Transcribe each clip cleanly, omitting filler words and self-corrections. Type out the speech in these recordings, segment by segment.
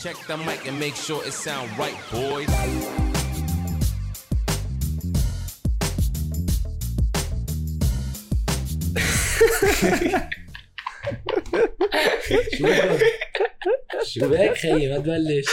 Check the mic and make sure it sound right, boys. شو بك خيي ما تبلش.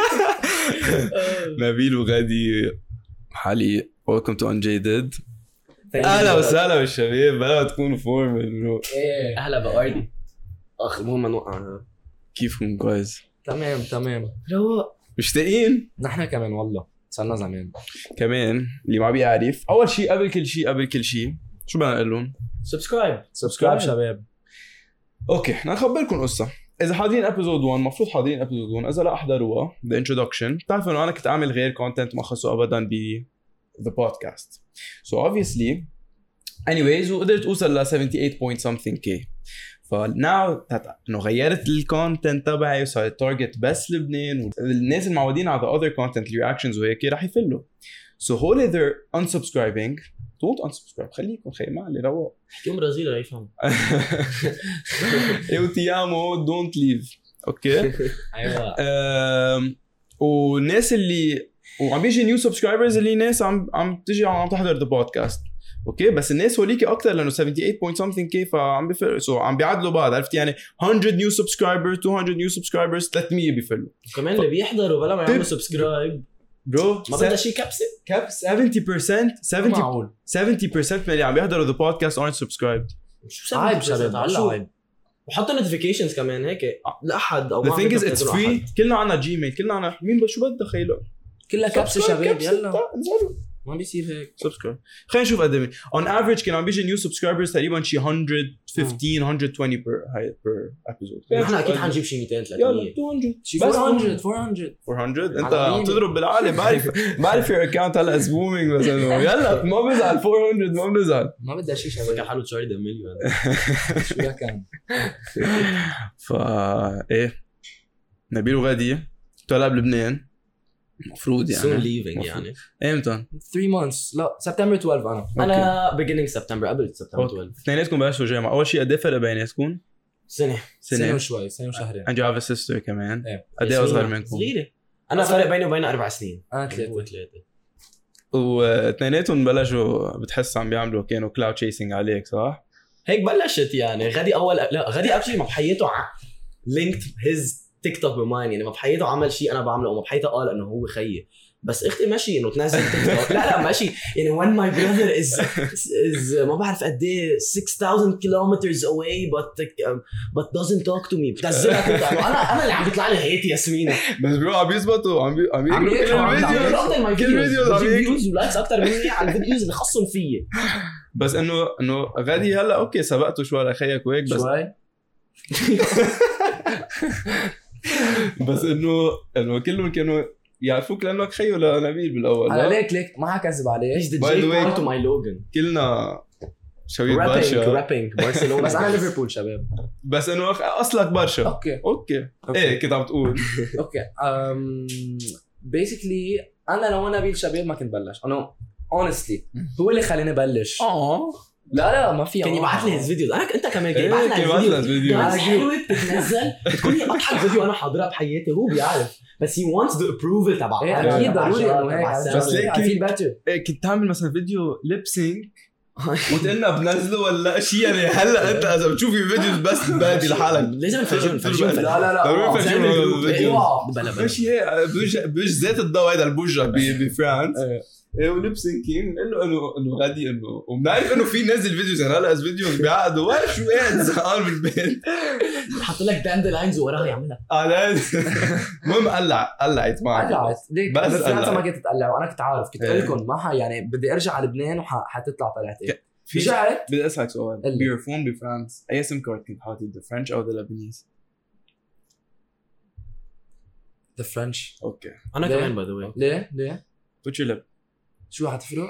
نبيل وغادي حالي welcome to Unjaded. اهلا وسهلا بالشباب بلا تكونوا فورمال. ايه اهلا بأردي اخ المهم نوقع. كيفكم؟ كويس تمام روق. مشتاقين نحن كمان والله صرنا زمان. كمان اللي ما بيعرف اول شيء قبل كل شيء شو بدنا نقول لهم؟ سبسكرايب شباب. اوكي نخبركم قصه. اذا حاضرين ابيزود 1 مفروض حاضرين ابيزود 1. اذا لا احضروها the introduction. بتعرفوا انه انا كنت اعمل غير كونتنت ما خصه ابدا ب the podcast. So obviously anyways وقدرت اوصل ل 78 point something k. فناو انه غيرت الكونتنت تبعي وصارت تارجت بس لبنان والناس المعودين على the other content reactions وهيك رح يفلوا. So wholly they're unsubscribing. don't unsubscribe خليكم خي ما علي روق. يوم برازيل رح يفهم. ايو تيامو don't leave. اوكي. ايوه. والناس اللي وعم بيجي نيو سبسكرايبرز اللي ناس عم تجي عم تحضر ذا بودكاست. اوكي بس الناس هوليكي اكثر لانه 78 point something k فعم بيفرق. سو عم بيعدلوا بعض عرفت يعني 100 نيو سبسكرايبرز 200 نيو سبسكرايبرز 300 بيفلوا كمان اللي بيحضروا بلا ما يعملوا سبسكرايب برو. ما بدها شيء كبسه 70% من اللي عم بيحضروا ذا بودكاست aren't subscribed. شو عيب شباب عيب. وحطوا نوتيفيكيشنز كمان هيك لاحد او the thing is it's free. كلنا عنا جيميل كلنا عنا مين شو بدها خيله كلها كبسه شباب يلا ما بيصير هيك. سبسكرايب خلينا نشوف قد ايه on average كان عم بيجي نيو سبسكرايبرز تقريبا شي 115 120 per episode. نحن اكيد حنجيب شي 200 300 يلا 200 شي بس 400 انت عم تضرب بالعالي. بعرف your account هلا is booming بس انه يلا ما بزعل 400 ما بنزعل ما بدها شي شباب. كان حلو تشاري مليون شو كان. ايه نبيل وغادي طلع بلبنان مفروض يعني soon leaving يعني امتى 3 months لا سبتمبر 12 انا beginning سبتمبر قبل سبتمبر 12. اثنيناتكم بلشوا جامعة. اول شيء قد ايه فرق بيناتكم؟ سنة وشوي سنة وشهرين. and you have a sister كمان. ايه قد ايه اصغر منكم؟ صغيرة. انا فرق بيني وبينها 4 سنين. 3 واثنيناتهم بلشوا بتحس عم بيعملوا كانوا كلاود تشيسنج عليك صح؟ هيك بلشت يعني. غادي غادي اكشلي ما بحياته linked his تيك توك بماين يعني ما بحياته عمل شيء انا بعمله وما بحياته قال انه هو خيي. بس اختي ماشي انه تنزل تيك توك لا ماشي يعني when my brother is ما بعرف قد ايه 6000 kilometers away but doesn't talk to me بتنزلها انا اللي عم بيطلع لي هيت ياسمينة. بس برو عم يزبطوا عم يقولوا كل الفيديوز فيوز ولايكس اكثر مني على الفيديوز اللي خصهم فيي. بس انه غادي هلا اوكي سبقته شوي لخيك وهيك بس شوي بس انه كلهم كانوا يعرفوك لانك خيو لنبيل بالاول. على ليك ما حكذب عليه. ايش ذا تو ماي لوجن كلنا شويه برشا رابينج برشلونه بس انا ليفربول شباب. بس انه اصلك برشا. اوكي ايه كنت عم تقول اوكي بيسيكلي انا لو نبيل شباب ما كنت بلش. انا honestly هو اللي خليني بلش. لا ما في. كان يبعث لي الفيديوز. انت كمان كان يبعث لي الفيديوز. حلوه بتنزل بتكوني اضحك فيديو انا حاضرها بحياتي. هو بيعرف بس he wants the approval تبعه. اكيد ضروري انه هيك بس ليك في كنت تعمل مثلا فيديو ليب سينك وتقلنا بنزله ولا شيء يعني. هلا انت اذا بتشوفي فيديوز بس بادي لحالك لازم نفرجون. لا ضروري نفرجون الفيديو ماشي هيك بوجه ذات الضوء هذا البوجه بفرانس وليب سينكين انه غادي انه وبنعرف انه في نازل فيديوز يعني هلا فيديوز بيعقدوا شو قاعد زهقان بالبيت حط لك داند لاينز وراها يعملها. المهم قلعت معك بس انت ما كنت تقلع وانا كنت عارف كنت اقول لكم ما يعني بدي ارجع على لبنان وحتطلع طلعتين. رجعت بدي اسالك سؤال بيرفون بفرانس اي سم كارد كنت حاطط ذا فرنش او ذا لبنانيز؟ ذا فرنش. اوكي انا كمان باي ذا واي. ليه put your lip شو حتفرق؟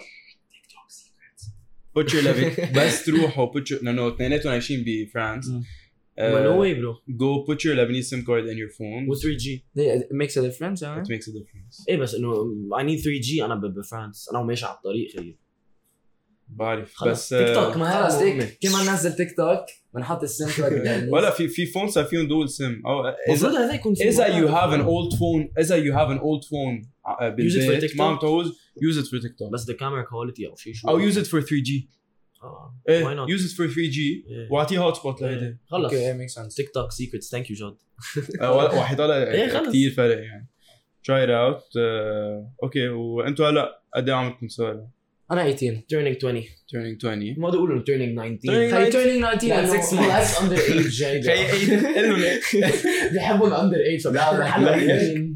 put your lip بس تروحوا put your لانه اثنيناتهم عايشين بفرانس. no way bro. Go put your Lebanese SIM card in your phone with 3G. It makes a difference. It makes a difference. ايه بس انه I need 3G انا بفرانس. انا ماشي على الطريق خير بعرف خلص بس تيك توك ما خلص هي هيك كمان نزل تيك توك بنحط السم كارد ولا في فون صار فيهم دول سم او المفروض هذا يكون في اذا you موقع. have an old phone Use it for بالبيت TikTok. ما عم تعوز use it for TikTok بس the camera quality او شيء شو او use it for 3G why ايه not use it for 3G إيه. واعطيه هوت سبوت لهيدي خلص اوكي ميك سنس. تيك توك سيكريتس ثانك يو جاد وحيطلع إيه خلص. كثير فرق يعني try it out اوكي وانتوا هلا قد ايه عمركم صار انا 18 turning 20 turning 20 ما بدي اقول انه turning 19 Turning خي turning 19 لانه at 6 months خلاص under age جاي قل لهم هيك بيحبوا الاندر ايج فبيعملوا حلوين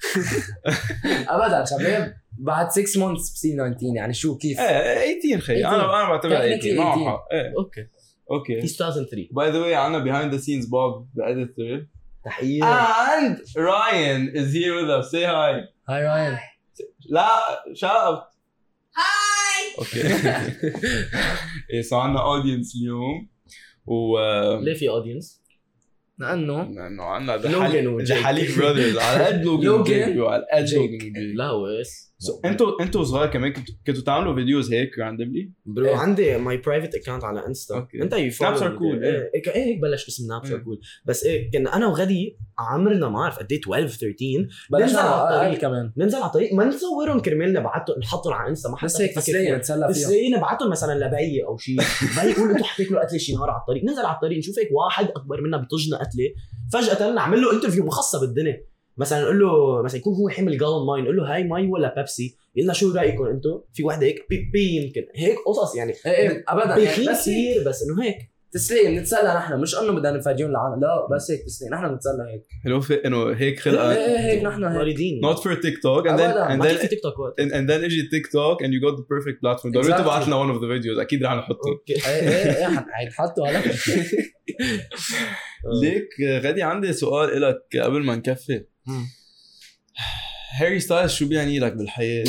ابدا شباب بعد 6 months بصير 19 يعني شو كيف ايه 18 خي انا بعتبرها 18 معه حق ايه اوكي اوكي في 2003 باي ذا واي عندنا behind the scenes Bob the editor تحيه and Ryan is here with us say hi هاي راين لا shout اوكي ايه صار عندنا اودينس اليوم و ليه في اودينس؟ لانه لانه عندنا لوجان وجيك. حليق براذرز على قد لوجان لوجان وجيك وعلى قد جيك. لوجان وجيك لا ويس انتوا صغار كمان كنتوا تعملوا فيديوز هيك راندملي برو إيه. عندي ماي برايفت اكونت على انستا أوكي. انت يو Snaps are cool، إيه. ايه هيك بلش اسم نابس ار إيه. كول بس ايه كنا انا وغدي عمرنا ما اعرف قد ايه 12 13 بلشنا ننزل على اقل الطريق كمان ننزل على الطريق ما نصورهم كرمال نبعتهم نحطهم على انستا ما حدا بس هيك بفكر تسلية فيها. نتسلى بس فيها ايه نبعتهم مثلا لبي او شيء بي يقول انتوا حتاكلوا قتله شي نهار على الطريق ننزل على الطريق نشوف هيك واحد اكبر منا بطجنا قتله فجاه نعمل له انترفيو مخصص بالدنيا مثلا نقول له مثلا يكون هو حامل جالون ماي نقول له هاي ماي ولا بيبسي يقول شو رايكم انتم في وحده هيك بي يمكن هيك قصص يعني ايه ابدا بيخين بس هيك كثير بس انه هيك تسلية بنتسلى نحن مش انه بدنا نفاجئهم العالم لا بس هيك تسلية نحن بنتسلى هيك حلو في انه هيك ايه خلقه ايه هيك نحن هيك مريضين not for TikTok and then أبداً. and ما في then تيك توك وقت and then اجي تيك توك and you got the perfect platform ضروري Exactly. تبعت لنا one of the videos اكيد رح نحطه اوكي ايه ايه حيتحطوا على ليك غادي عندي سؤال لك قبل ما نكفي هاري ستايلز شو بيعني لك بالحياة؟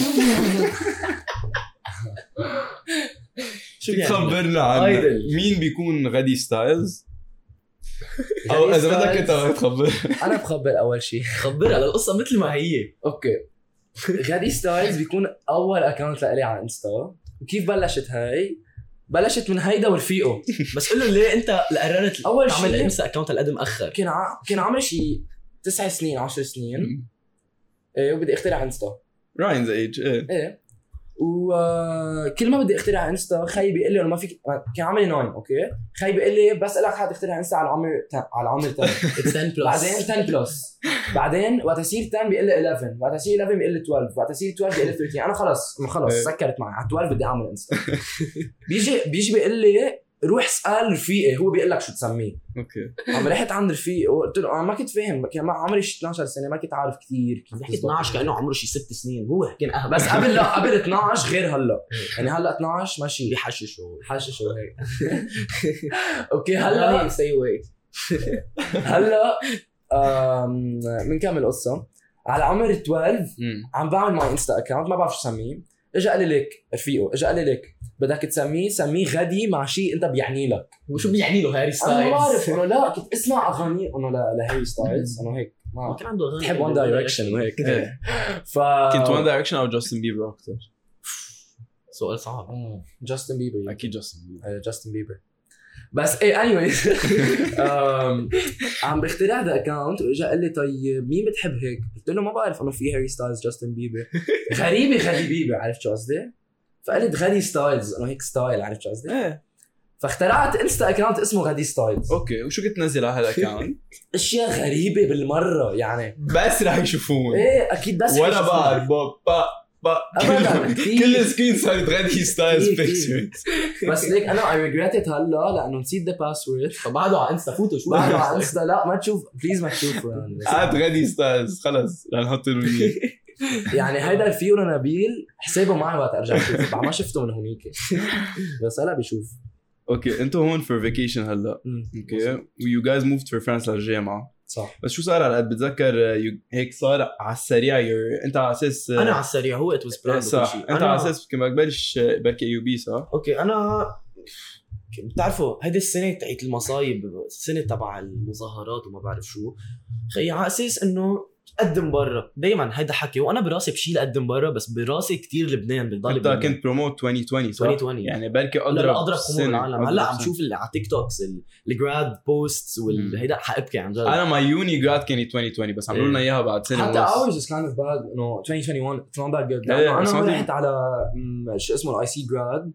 شو فيك يعني تخبرنا عنه Idol. مين بيكون غادي ستايلز؟ غادي او اذا بدك ستايلز. انت تخبر انا بخبر اول شيء خبرها للقصه مثل ما هي اوكي غادي ستايلز بيكون اول اكونت لإلي على انستا وكيف بلشت هاي بلشت من هيدا ورفيقه بس قول له ليه انت قررت أول تعمل شيء- انستا اكونت القدم اخر كان عمري شيء 9 سنين 10 سنين ايه وبدي اخترع انستا راينز ايج ايه ايه وكل ما بدي اخترع انستا خي بيقول لي انه ما فيك كان عمري 9 اوكي خي بيقول لي بس لك حد اخترع انستا على العمر 10 It's 10 plus بعدين 10 بلس بعدين وقت يصير 10 بيقول لي 11 وقت يصير 11 بيقول لي 12 وقت يصير 12 بيقول لي 13 انا خلص إيه. سكرت معي على 12 بدي اعمل انستا بيجي بيقول لي روح اسال رفيقي هو بيقول لك شو تسميه اوكي عم رحت عند رفيقي وقلت له انا ما كنت فاهم كان عمري 12 سنه ما كنت عارف كثير كيف بحكي 12 كانه عمره شي 6 سنين هو كان اهبل بس قبل لا قبل 12 غير هلا يعني هلا 12 ماشي بيحشش هو حاشش وهيك اوكي هلا stay away هلا بنكمل قصه على عمر 12 عم بعمل ماي انستا اكونت ما بعرف شو اسميه اجى قال لي ليك رفيقه اجى قال لي ليك بدك تسميه سميه غدي مع شيء انت بيعني لك وشو بيعني له هاري ستايلز انا ما بعرف انه لا كنت اسمع اغاني انه لهاري ستايلز انه هيك ما كان عنده اغاني بحب وان دايركشن وهيك إيه. ف كنت وان دايركشن او جاستن بيبر اكثر سؤال صعب جاستن بيبر اكيد جاستن بيبر جاستن بيبر بس ايه anyways عم بخترع ذا اكونت واجا قال لي طيب مين بتحب هيك؟ قلت له ما بعرف انه في هاري ستايلز جاستن بيبر غريبه غادي بيبر عرفت شو قصدي؟ فقلت غادي ستايلز انه هيك ستايل عرفت شو قصدي؟ ايه فاخترعت انستا اكونت اسمه غادي ستايلز اوكي وشو كنت تنزل على هالاكونت؟ اشياء غريبه بالمره يعني بس رح يشوفون ايه اكيد بس ولا حيشوفوها. بعرف با أبداً، كتير. كل سكرين صارت غادي ستايلز كتير. بيكتشرز بس ليك انا اي ريجريت هلا لانه نسيت ذا باسورد فبعده على انستا فوتوا شو بعده على انستا لا ما تشوف بليز ما تشوفه يعني قاعد غادي ستايلز خلص رح نحط له إياه. يعني هيدا رفيق نبيل حسابه معي وقت ارجع اشوفه بعد ما شفته من هونيك بس هلا بيشوف اوكي انتوا هون فور فيكيشن هلا اوكي ويو جايز موفد فور فرانس للجامعه صح بس شو صار على قد بتذكر هيك صار على السريع انت على اساس انا على السريع هو ات واز بلاند صح انت على اساس كما بلش بركي يو بي صح اوكي انا بتعرفوا هيدي السنه تاعت المصايب السنه تبع المظاهرات وما بعرف شو خي على اساس انه قدم برا دايما هيدا حكي، وانا براسي بشيل قدم برا، بس براسي كتير لبنان بضل انت كنت بروموت 2020 صح؟ 2020 يعني بركي لا اضرب اضرب قمر العالم. هلا عم شوف اللي على تيك توكس الجراد بوستس والهيدا حابكي عن جد. انا ما يوني جراد كانت 2020 بس عملوا لنا اياها بعد سنه حتى ونص. ours is kind of bad انه 2021 it's not that good. إيه، انا سمعتي؟ رحت على شو اسمه الاي سي جراد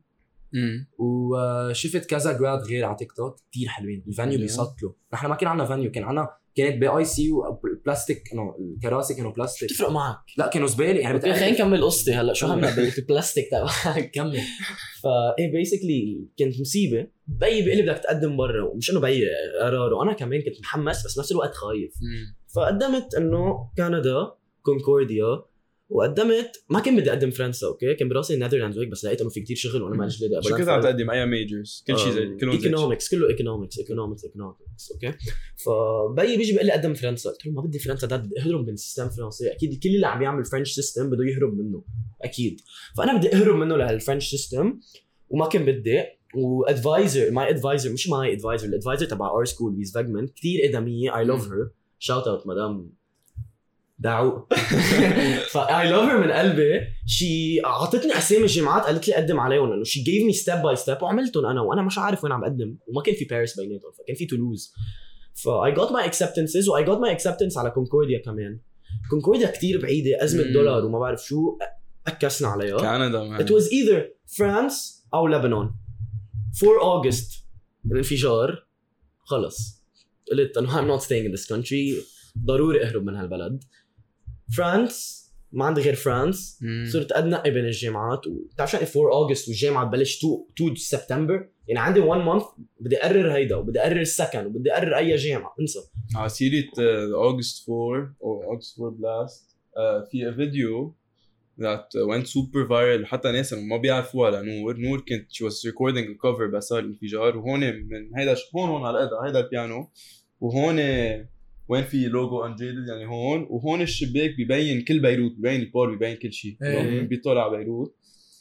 وشفت كذا جراد غير على تيك توك كثير حلوين. الفانيو بيسطلوا. نحن ما كان عندنا فانيو، كانت باي سي وبلاستيك، انه الكراسي كانوا بلاستيك. تفرق معك؟ لا كانوا زباله يعني. خلينا نكمل قصتي هلا شو عملنا بالبلاستيك تبعك. كمل. فايه بيسكلي كانت مصيبه. بيي بيقول لي بدك تقدم برا، ومش انه بيي قرار، وانا كمان كنت محمس بس نفس الوقت خايف. فقدمت انه كندا كونكورديا، وقدمت ما كان بدي اقدم فرنسا. اوكي كان براسي النذرلاندز وهيك، بس لقيت انه في كتير شغل وانا ما ليش بدي شو كنت عم تقدم اي ميجرز؟ كل شيء زي كلهم ايكونومكس، كله ايكونومكس. اوكي فبيي بيجي بيقول لي قدم فرنسا، قلت له ما بدي فرنسا، ده بدي اهرب من السيستم الفرنسي. اكيد كل اللي عم يعمل فرنش سيستم بده يهرب منه اكيد، فانا بدي اهرب منه لهالفرنش سيستم وما كان بدي. وادفايزر ماي ادفايزر مش ماي ادفايزر، الادفايزر تبع اور سكول بيز فاجمن كثير ادميه. اي لاف هير، شاوت اوت مدام دعو. فاي لاف هير من قلبي. شي اعطتني اسامي الجامعات قالت لي قدم عليهم، انه شي جيف مي ستيب باي ستيب وعملتهم انا، وانا مش عارف وين عم بقدم. وما كان في باريس بيناتهم، فكان في تولوز. فاي جوت ماي اكسبتنسز، واي جوت ماي اكسبتنس على كونكورديا كمان. كونكورديا كتير بعيده، ازمه دولار وما بعرف شو اكسنا عليها. كندا it was either France او لبنان. 4 أغسطس الانفجار. خلص قلت انه I'm not staying in this country، ضروري اهرب من هالبلد. فرانس ما عندي غير فرانس. صرت اتنقي بين الجامعات، وبتعرف شو 4 أغسطس والجامعه تبلش 2 سبتمبر، يعني عندي 1 month بدي اقرر هيدا، وبدي اقرر السكن، وبدي اقرر اي جامعه. انسى. على سيرة August 4 او August 4 blast في فيديو that went super viral. حتى ناس ما بيعرفوها لنور كنت she was recording a cover بس صار الانفجار. وهون من هيدا هون على الأداء هيدا البيانو، وهون وين في لوجو انجيدد يعني هون، وهون الشباك بيبين كل بيروت، بيبين البول، بيبين كل شيء بيطلع على بيروت.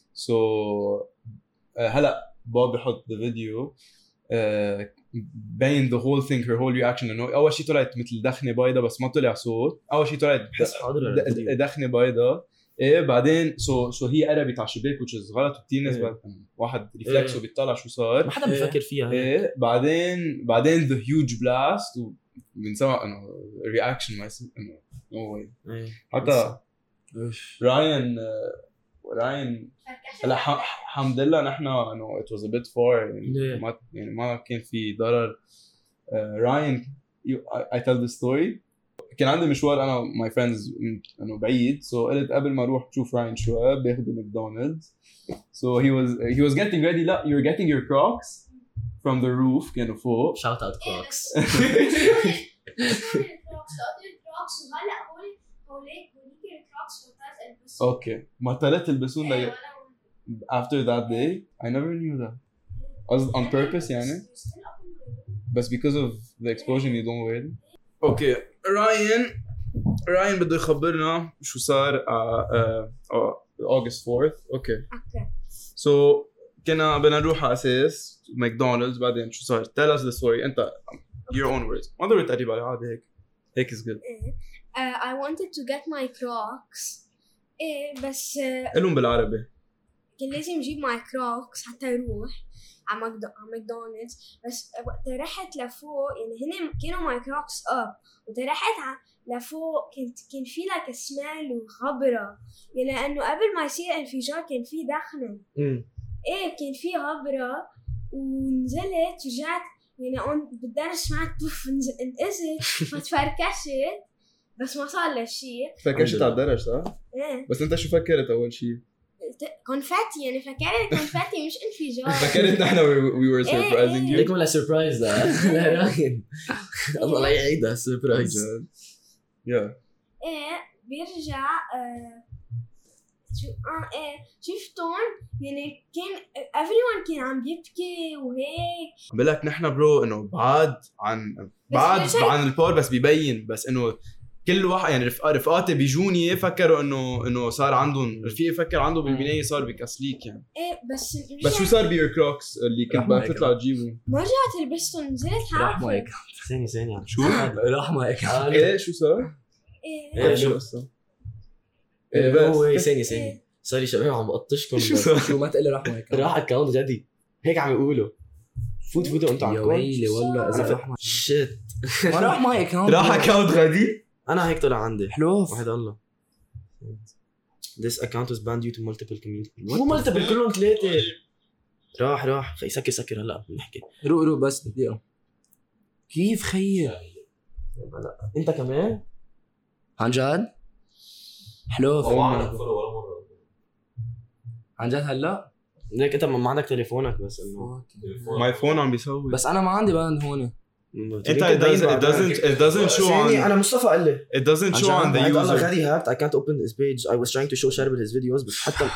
هلا باب بحط الفيديو بين the whole thing her whole reaction. انه اول شيء طلعت مثل دخنه بيضة بس ما طلع صوت. اول شيء طلعت دخنه بيضة ايه، بعدين هي قربت على الشباك which is غلط. وكتير ناس واحد ريفلكسه بيطلع شو صار، ما حدا بيفكر فيها. ايه بعدين the huge blast وبنسمع انه reaction ما يصير انه no way. حتى راين هلا الحمد لله نحن انه it was a bit far يعني ما كان في ضرر. راين I tell the story. كان عندي مشوار انا my friends انه بعيد، قلت قبل ما اروح اشوف راين شوي باخذ ماكدونالدز. he was getting ready. لا you're getting your Crocs from the roof كانوا فوق. shout out Crocs. اوكي ما طلعت البسون ده after that day. I never knew that. on purpose يعني، بس because of the explosion you don't wear them. اوكي راين بده يخبرنا شو صار August 4th. اوكي كنا بدنا نروح على اساس ماكدونالدز، بعدين شو صار؟ tell us the story انت your own words. ما ضروري تقريبا على عادي هيك is good. I wanted to get my Crocs بس قلهم بالعربي. كان لازم اجيب my Crocs حتى يروح على ماكدونالدز. بس وقت رحت لفوق يعني هن كانوا my Crocs up، وقت رحت لفوق كان في لك سمال وغبرة يعني، لأنه قبل ما يصير انفجار كان في دخنة. كان في غبرة. ونزلت رجعت يعني بالدرس سمعت بوف انقزت فتفركشت بس ما صار له شيء. فركشت على الدرج صح؟ بس انت شو فكرت اول شيء؟ كونفاتي يعني، فكرت كونفاتي مش انفجار. فكرت نحن we were surprising you. ليك ولا سربرايز لا راين. الله لا يعيدها سربرايز. بيرجع شفتون يعني كان everyone كان عم يبكي وهيك. بقولك نحن برو انه بعاد عن البول بس بيبين بس انه كل واحد يعني رفقاتي بيجوني فكروا انه صار عندهم رفيق فكر عنده بالبنايه صار بكسليك يعني. بس شو صار بيور كروكس اللي كنت بدك تطلع تجيبه؟ ما رجعت لبستهم نزلت حافظ. ثانية شو؟ راح ما هيك. ايه شو صار؟ ايه شو شو قصة؟ هو بس ثانية صار لي شباب عم بقطشكم شو بس. صار؟ شو ما تقلي راح معك راح اكونت جدي هيك عم يقولوا فوتوا انتوا يا عم ويلي والله اذا راح معي شيت ما راح معي اكونت راح اكاونت غدي؟ انا هيك طلع عندي حلوف وحد الله This account was banned due to multiple community مو multiple كلهم ثلاثة راح خي سكر هلا بنحكي روق بس دقيقة كيف خيي انت كمان عن جد حلوف عن جد هلا ليك انت ما عندك تليفونك بس انه ماي فون عم بيصور بس انا ما عندي باند هون انت it doesn't show ثانية on انا مصطفى قال لي it doesn't show on the الله user غادي هاكت I can't open his page I was trying to show شارب his videos بس حتى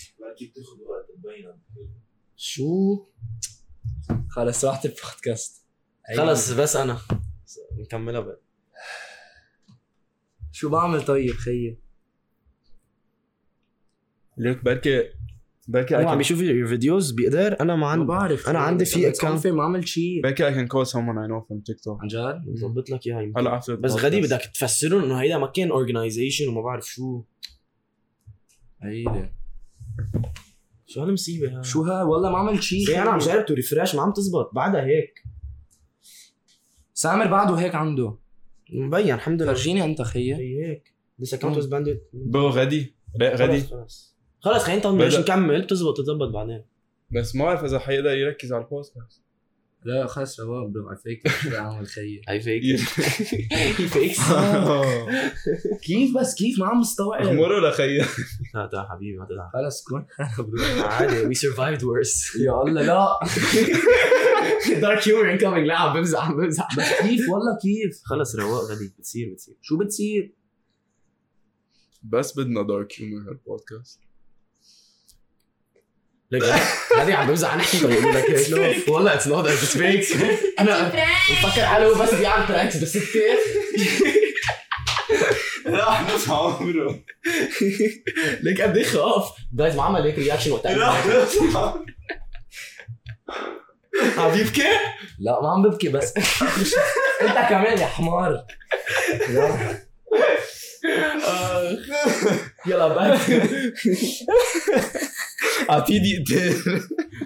شو خلص راحت البودكاست خلص بس انا نكملها بقى شو بعمل طيب خيي ليك بركي هو عم I can بيشوف الفيديوز بيقدر انا ما ما عندي بعرف أنا عندي في account. ما عملت شيء بركي I can call someone I know from TikTok عن جد بظبط لك اياها يمكن. هلا after بس غادي بدك تفسرون انه هيدا ما كان organization وما بعرف شو هيدا شو هالمصيبه هاي شو ها والله ما عملت شيء انا عم جرب تو ريفرش ما عم تزبط بعدها هيك سامر بعده هيك عنده مبين الحمد لله فرجيني انت خيي هي هيك this account was banned بو غدي غدي خلص خلينا نبلش بدأ. نكمل تزبط بعدين بس ما بعرف اذا حيقدر يركز على البودكاست لا خلص رواق برو على فيك شو عامل خيي هاي فيك هي فيك كيف بس كيف ما عم مستوعب اخمره لخي لا حبيبي ما تزعل خلص كون عادي we survived worse يا الله لا dark humor incoming لا عم بمزح بس كيف والله كيف خلص رواق غادي بتصير شو بتصير بس بدنا دارك هيومر هالبودكاست ليك غادي عم بمزح نحكي بيقولوا لك هيك والله it's not it's fake انا بفكر حاله بس بيعمل برانكس بس كثير راح نص عمره ليك قد ايه خاف جايز ما عمل هيك رياكشن وقتها راح نص عم يبكي لا ما عم ببكي بس انت كمان يا حمار يلا باك اعطيه دقيقتين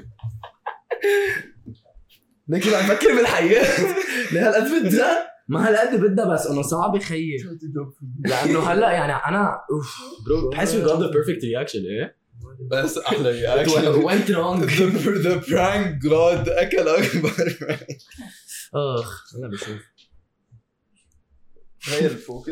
ليك عم بفكر بالحياة لهالقد بدها ما هالقد بدها بس انه صعب خيي لانه هلا يعني انا برو بحس we got the perfect reaction ايه بس احلى it رياكشن went wrong the prank god اكل اكبر انا بشوف غير الفوكس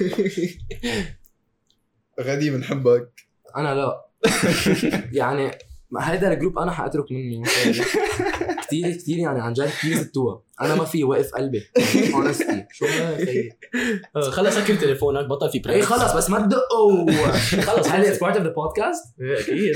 غدي بنحبك انا لا يعني هيدا الجروب انا حاترك منه كتير يعني عن جد كتير زتوها انا ما في وقف قلبي honestly شو هاي خلص سكر تليفونك بطل في اي بريس خلص بس ما تدقوا خلص هل it's part of the podcast اكيد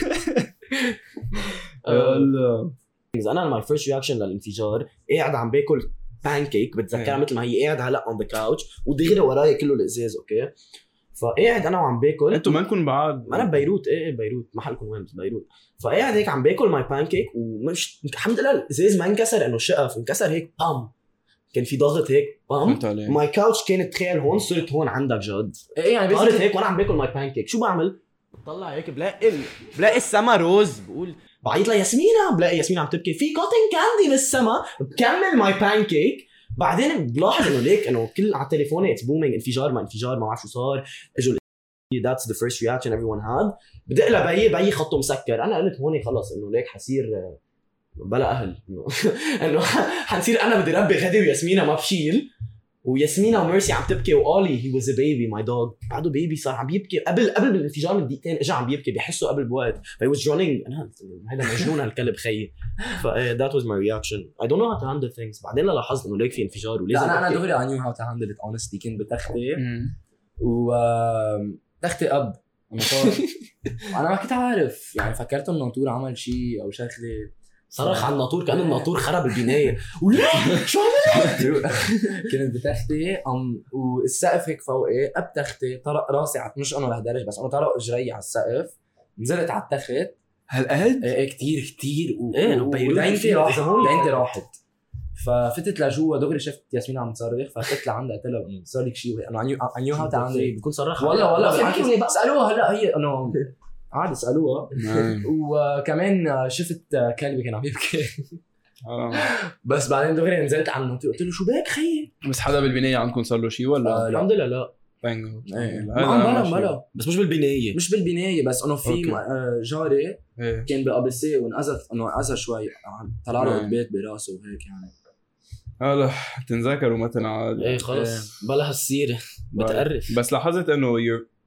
يلا انا ماي فيرست رياكشن للانفجار قاعد عم باكل بانكيك بتذكرها مثل ما هي قاعد هلا اون ذا كاوتش ودغري وراي كله الازاز اوكي فقاعد انا وعم باكل انتوا مالكم بعد انا ببيروت ايه بيروت محلكم وين بس بيروت فقاعد هيك عم باكل ماي بانكيك ومش الحمد لله الازاز ما انكسر انه شقف انكسر هيك بام كان في ضغط هيك بام فهمت عليك ماي كاوتش كانت تخيل هون صرت هون عندك جد ايه يعني صارت بس هيك وانا عم باكل ماي بانكيك شو بعمل بطلع هيك بلاقي السما روز بقول بعيط لياسمينة بلاقي ياسمينة عم تبكي في كوتن كاندي بالسما بكمل ماي بانكيك بعدين بلاحظ انه ليك انه كل على تليفوني اتس بومينج انفجار ما بعرف شو صار اجوا that's the first reaction everyone had بدق لبي خطه مسكر انا قلت هون خلص انه ليك حصير بلا اهل انه حنصير انا بدي ربي غدي وياسمينة ما بشيل وياسمينة وميرسي عم تبكي وقالي he was a baby my dog بعده بيبي صار عم بيبكي قبل بالانفجار من دقيقتين اجى عم بيبكي بحسه قبل بوقت he was running انا هذا مجنون هالكلب خيي that was my reaction I don't know how to handle things بعدين لاحظت انه ليك في انفجار ولازم لا انا أبكي. دغري I knew how to handle it honestly كنت بتختي و تختي اب انا ما كنت عارف يعني فكرت انه الناطور عمل شيء او شغله صرخ على الناطور كأنه الناطور خرب البناية ولا شو عملت كنت بتختي والسقف هيك فوقي بتختي طرق راسي مش انه لهدرج بس انه طرق اجري على السقف نزلت على التخت هالقد؟ ايه كتير إيه، بيروت ودينتي فيها راحت إذا هون دينتي راحت ففتت لجوا دغري شفت ياسمين عم تصرخ، ففتت لعندها قلت لها انه صار لك شيء، انه I knew how to handle it. بكون صرخ والله بالعكس. اسالوها هلا هي انه عادي اسالوها. وكمان شفت كلبي كان عم يبكي بس بعدين دغري نزلت عنه قلت له شو بك خيي. بس حدا بالبنايه عندكم صار له شيء ولا؟ الحمد لله لا بلا بس مش بالبنايه مش بالبنايه، بس انه في جاري إيه. كان بقبسيه وانأذت انه اذى شوي، طلع له البيت براسه وهيك يعني. هلا تنذكروا مثلا ايه خلص بلا هالسيره بتقرف. بس لاحظت انه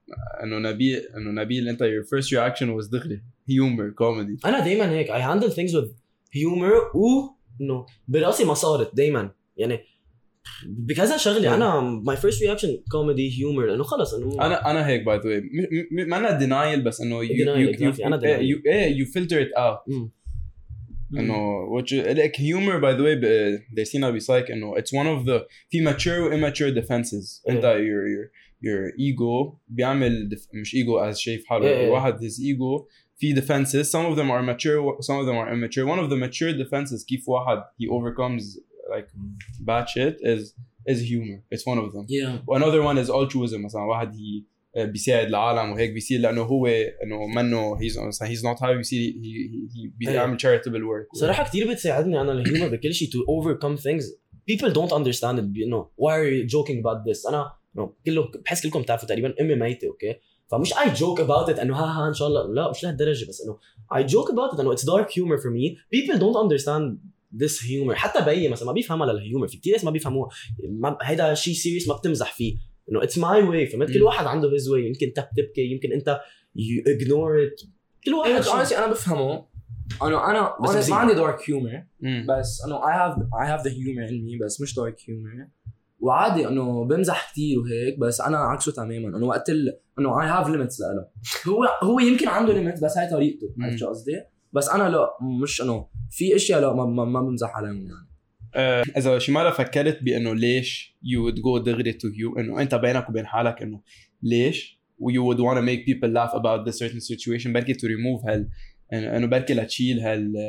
نبيل انت your first reaction was دغري humor comedy. انا دايما هيك I handle things with humor انه براسي ما صارت دايما يعني بكذا شغله. انا my first reaction comedy humor لانه خلص انه انا هيك by the way ما انا denial بس انه you filter it out انه which like humor by the way دارسينها بسايك انه it's one of the في mature و immature defenses. انت your ego بيعمل مش ego as شايف حاله واحد his ego في defenses, some of them are mature some of them are immature. One of the mature defenses كيف واحد he overcomes like bad shit is humor. It's one of them. Another one is altruism. مثلا واحد بيساعد العالم وهيك بيصير لانه هو انه منه he's not happy بيصير he بيعمل charitable work. صراحه كثير بتساعدني انا الهيومر بكل شيء to overcome things people don't understand it. You know why are you joking about this. انا كله بحس كلكم بتعرفوا تقريبا امي ميته اوكي فمش I joke about it انه ها ان شاء الله لا مش لهالدرجه بس انه I joke about it انه it's dark humor for me. People don't understand this humor. حتى بيي مثلا ما بيفهمها للهيومر. في كتير ناس ما بيفهموها. هيدا شيء سيريس ما بتمزح فيه انه it's my way. فهمت كل واحد عنده his way. يمكن انت بتبكي يمكن انت you ignore it. كل واحد honestly انا بفهمه. انا ما عندي dark humor بس انه I have the humor in me بس مش dark humor. وعادي انه بمزح كتير وهيك بس انا عكسه تماما. انه وقت انه I have limits له. هو يمكن عنده limits بس هاي طريقته. عرفت شو قصدي؟ بس انا لا مش انه في اشياء لا ما بمزح عليهم يعني. اذا شي مره فكرت بانه ليش you would go دغري to you انه انت بينك وبين حالك انه ليش you would want to make people laugh about this certain situation بركي to remove انه بركي لتشيل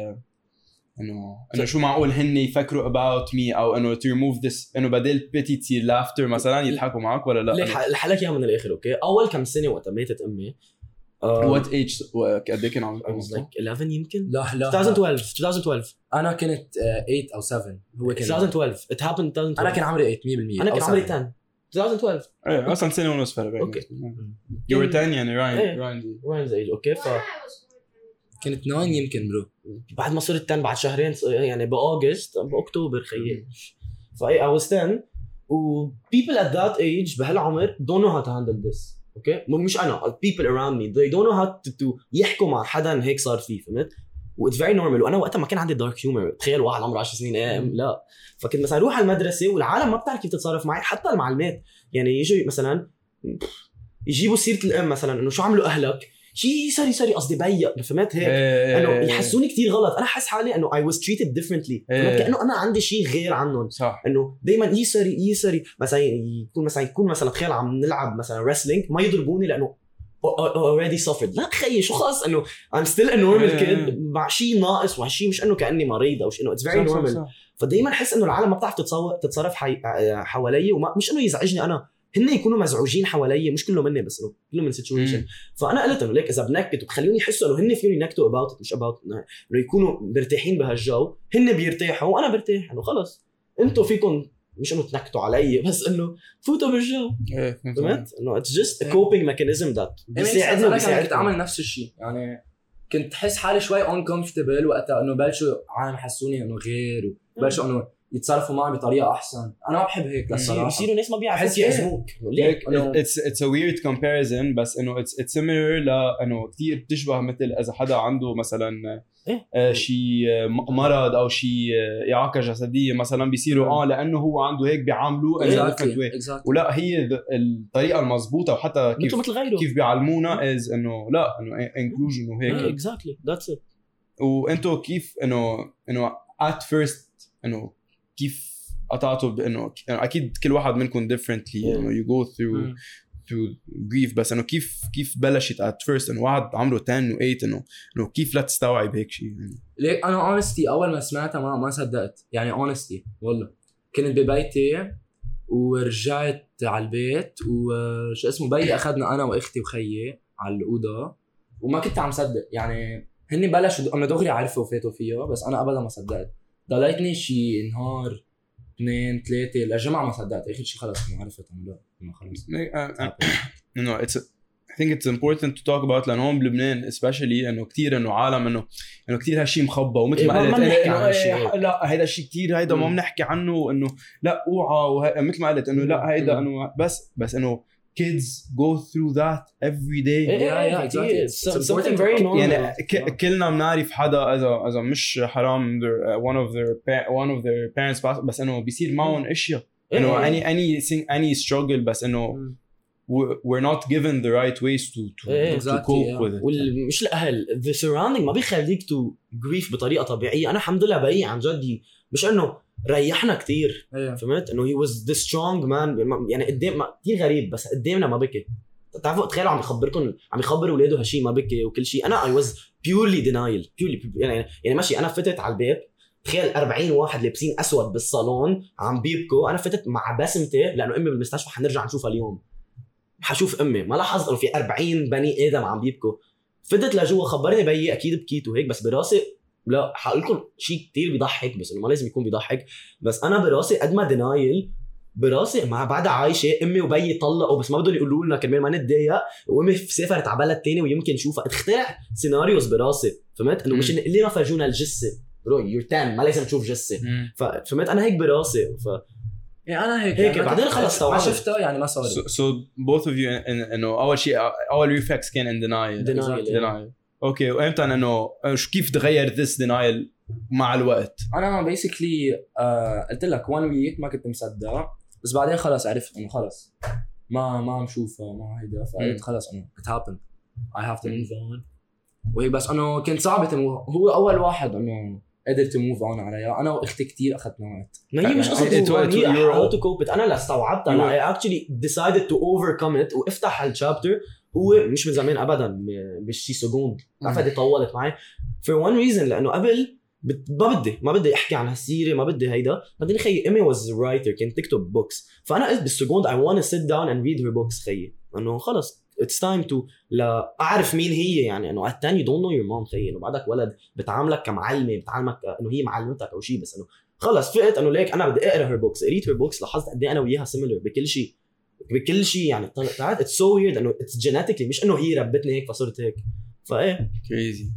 انه شو معقول هن يفكروا about me او انه to remove this انه بدل pity تصير laughter مثلا يضحكوا معك ولا لا؟ ليك الحلقه اياها من الاخر اوكي. اول كم سنه وقت ماتت امي what age قد ايه كان عمرك؟ 11 يمكن. لا 2012 انا كنت 8 او 7 هو كان 2012 it happened 2012. انا كان عمري 8% انا كان عمري 10 2012 ايه اصلا سنه ونص فرق. اوكي you were 10 يعني راين's age اوكي كانت 9 يمكن برو. بعد ما صرت 10 بعد شهرين يعني باغسطس باكتوبر خيي فاي I was 10 و people at that age بهالعمر don't know how to handle this. اوكي مش انا people around me they don't know how to يحكوا مع حدا هيك صار فيه. فهمت؟ و it's very normal. وانا وقتها ما كان عندي dark humor. تخيل واحد عمره 10 سنين لا. فكنت مثلا اروح على المدرسه والعالم ما بتعرف كيف تتصرف معي. حتى المعلمات يعني يجوا مثلا يجيبوا سيره الام مثلا انه شو عملوا اهلك شيء سوري قصدي بيق. فهمت هيك انه يحسوني كتير غلط. انا حس حالي انه I was treated differently. كأنه انا عندي شيء غير عنهم. انه دايما يسري مثلا يكون مثلا تخيل عم نلعب مثلا wrestling ما يضربوني لانه already suffered. لا خيي شو خاص انه I'm still a normal kid مع شيء ناقص وشيء مش انه كأني مريض او شيء انه it's very normal. فدايما حس انه العالم ما بتعرف تتصرف حوالي وما مش انه يزعجني انا هن يكونوا مزعوجين حوالي مش كله مني بس كله من situation. فانا قلت انه ليك اذا بنكت وتخلوني يحسوا انه هن فيهم ينكتوا about it مش about انه يكونوا مرتاحين بهالجو. هن بيرتاحوا وانا برتاح انه خلص انتوا فيكم مش انه تنكتوا علي بس انه فوتوا بالجو. فهمت انه it's just a coping mechanism that بيساعدني. انا كنت اعمل نفس الشيء يعني كنت حس حالي شوي uncomfortable وقتها انه بلشوا عالم حسوني انه غير وبلشوا انه يتصرفوا معي بطريقه احسن. انا ما بحب هيك للصراحه. يصيروا ناس ما بيعرفوا يعزموك. it's a weird comparison بس انه it's similar لانه كثير بتشبه مثل اذا حدا عنده مثلا شيء مرض او شيء اعاقه جسديه مثلا بيصيروا لانه هو عنده هيك بيعاملوه ولا هي الطريقه المضبوطه وحتى كيف بيعلمونا از انه لا انه inclusion وهيك exactly that's it. وانتو كيف انه at first انه كيف قطعتوا بانه اكيد كل واحد منكم differently you know you go through grief بس انه كيف بلشت at first انه واحد عمره 10 و8 انه كيف لا تستوعب هيك شيء يعني. ليك انا honestly اول ما سمعتها ما صدقت يعني honestly والله كنت ببيتي ورجعت على البيت وشو اسمه بيي اخذنا انا واختي وخيي على الاوضه وما كنت عم صدق يعني هني بلشوا انا دغري عرفوا وفاتوا فيها بس انا ابدا ما صدقت ضليتني شي نهار 2 3 للجمعه ما صدقت اخر شيء خلص ما عرفت انه لا خلص انه I think it's important to talk about لأنه هون بلبنان especially إنه كتير إنه عالم إنه كتير هالشيء مخبى ومثل ما قلت لا هيدا الشيء كتير هيدا ما بنحكي عنه إنه لا اوعى مثل ما قلت إنه لا هيدا إنه بس إنه kids go through that every day. Yeah, exactly. It's something very normal. يعني كلنا بنعرف حدا إذا مش حرام one of their parents passed بس إنه بيصير معهم أشياء إنه any struggle بس إنه we're not given the right ways to cope with it. مش الأهل the surrounding ما بيخليك to grieve بطريقة طبيعية. أنا الحمد لله بقي عن جد مش إنه ريحنا كتير فهمت إنه he was the strong man يعني قدام كتير غريب بس قدامنا ما بكي. تعرفوا تخيلوا عم يخبر ولاده هالشي ما بكي وكل شيء. أنا I was purely denial يعني ماشي أنا فتت على البيت تخيل 40 واحد لابسين أسود بالصالون عم بيبكوا. أنا فتت مع بسمتي لأنه أمي بالمستشفى حنرجع نشوفها اليوم حشوف امي ما لاحظت انه في 40 بني ادم عم بيبكوا. فدت لجوا خبرني بيي اكيد بكيت وهيك بس براسي لا حقول لكم شيء كتير بيضحك بس انه ما لازم يكون بيضحك بس انا براسي قد ما دينايل براسي مع بعدها عايشه امي وبيي طلقوا بس ما بدهم يقولوا لنا كرمال ما نتضايق وامي سافرت على بلد ثاني ويمكن نشوفها. تخترع سيناريوز براسي فهمت انه مش اللي ما فرجونا الجثه برو يور 10 ما لازم تشوف جثه فهمت انا هيك براسي يعني انا هيك بعدين خلص ما شفتها يعني ما صار. So both of you انه اول شيء اول reflex كان in denial. اوكي وامتى انه كيف تغير this denial مع الوقت؟ انا basically قلت لك one week ما كنت مصدق بس بعدين خلص عرفت انه خلص ما عم شوفها ما هيدا فقلت خلص انه it happened I have to move on وهي بس انه كنت صعبة هو اول واحد انه قدرت موف اون عليها. انا واختي كتير اخذنا وقت ما هي مش قصة هي how to cope it. انا لا استوعبتها لا I actually decided to overcome it وافتح هالشابتر هو مش من زمان ابدا بشي سكوند عفوا طولت معي for one reason لانه قبل ما بدي احكي عن هالسيره ما بدي هيدا بعدين خيي امي was a writer كانت تكتب بوكس فانا قلت بالسكوند I want to sit down and read her books خيي انه خلص it's time to لا اعرف مين هي يعني انه at 10 you don't know your mom خيي انه بعدك ولد بتعاملك كمعلمه بتعلمك انه هي معلمتك او شيء بس انه خلص فقت انه ليك انا بدي اقرا her books قريت her books لاحظت قد ايه انا وياها similar بكل شيء يعني طلعت it's so weird انه it's genetically مش انه هي ربتني هيك فصرت هيك فايه crazy.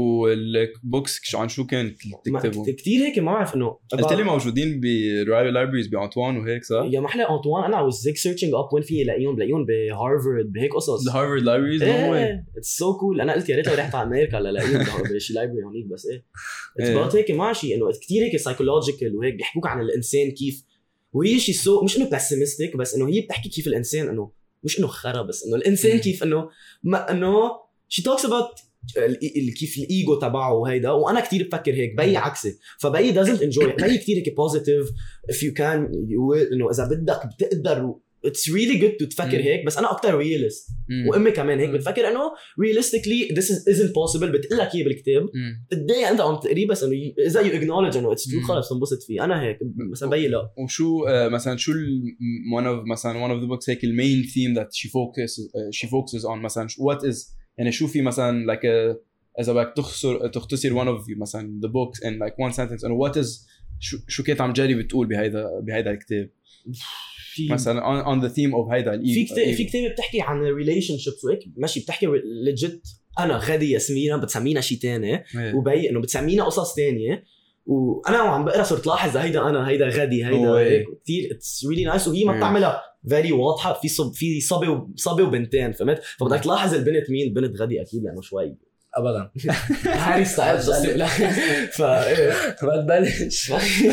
والبوكس عن شو كانت تكتبوا؟ كتير هيك ما بعرف انه قلت لي موجودين برايل لايبريز بأنطوان وهيك صح؟ يا محلى أنطوان أنا was like searching up وين في لاقيهم بهارفارد بهيك قصص. الهارفارد لايبريز it's so cool. أنا قلت يا ريت لو رحت على أمريكا لاقيهم بشي لايبرري هونيك بس it's about هيك ماشي إنه كتير هيك psychological وهيك بيحكوك عن الإنسان كيف وهي شيء so مش إنه pessimistic بس إنه هي بتحكي كيف الإنسان إنه مش إنه خرا بس إنه الإنسان كيف إنه ما إنه she talks about كيف الايجو تبعه وهيدا وانا كتير بفكر هيك بي عكسي فبي doesn't enjoy بي كتير هيك positive if you can انه اذا بدك بتقدر it's really good to تفكر هيك بس انا اكتر realist وامي كمان هيك بتفكر انه realistically this isn't possible بتقلك اياه بالكتاب بتضايق انت عم تقريه بس انه اذا you acknowledge انه it's true خلص تنبسط فيه. انا هيك مثلا بي لا وشو مثلا شو one of the books هيك المين theme that she focuses on مثلا what is يعني شو في مثلا like إذا بدك تختصر one of مثلا the books in like one sentence and what is شو كنت عم جري بتقول بهيدا الكتاب مثلا on the theme of هيدا في كتاب بتحكي عن relationships وهيك ماشي بتحكي legit أنا غادي ياسمينة بتسمينا شيء تاني وبي إنه بتسمينا قصص تانية وأنا وعم بقرأ صرت لاحظ هيدا غادي هيدا كتير it's really nice وهي ما بتعملها very واضحة في صبي وبنتين فهمت فبدك تلاحظ البنت مين البنت غادي أكيد لأنه شوي أبدا هاري ستايلز لا ما تبلش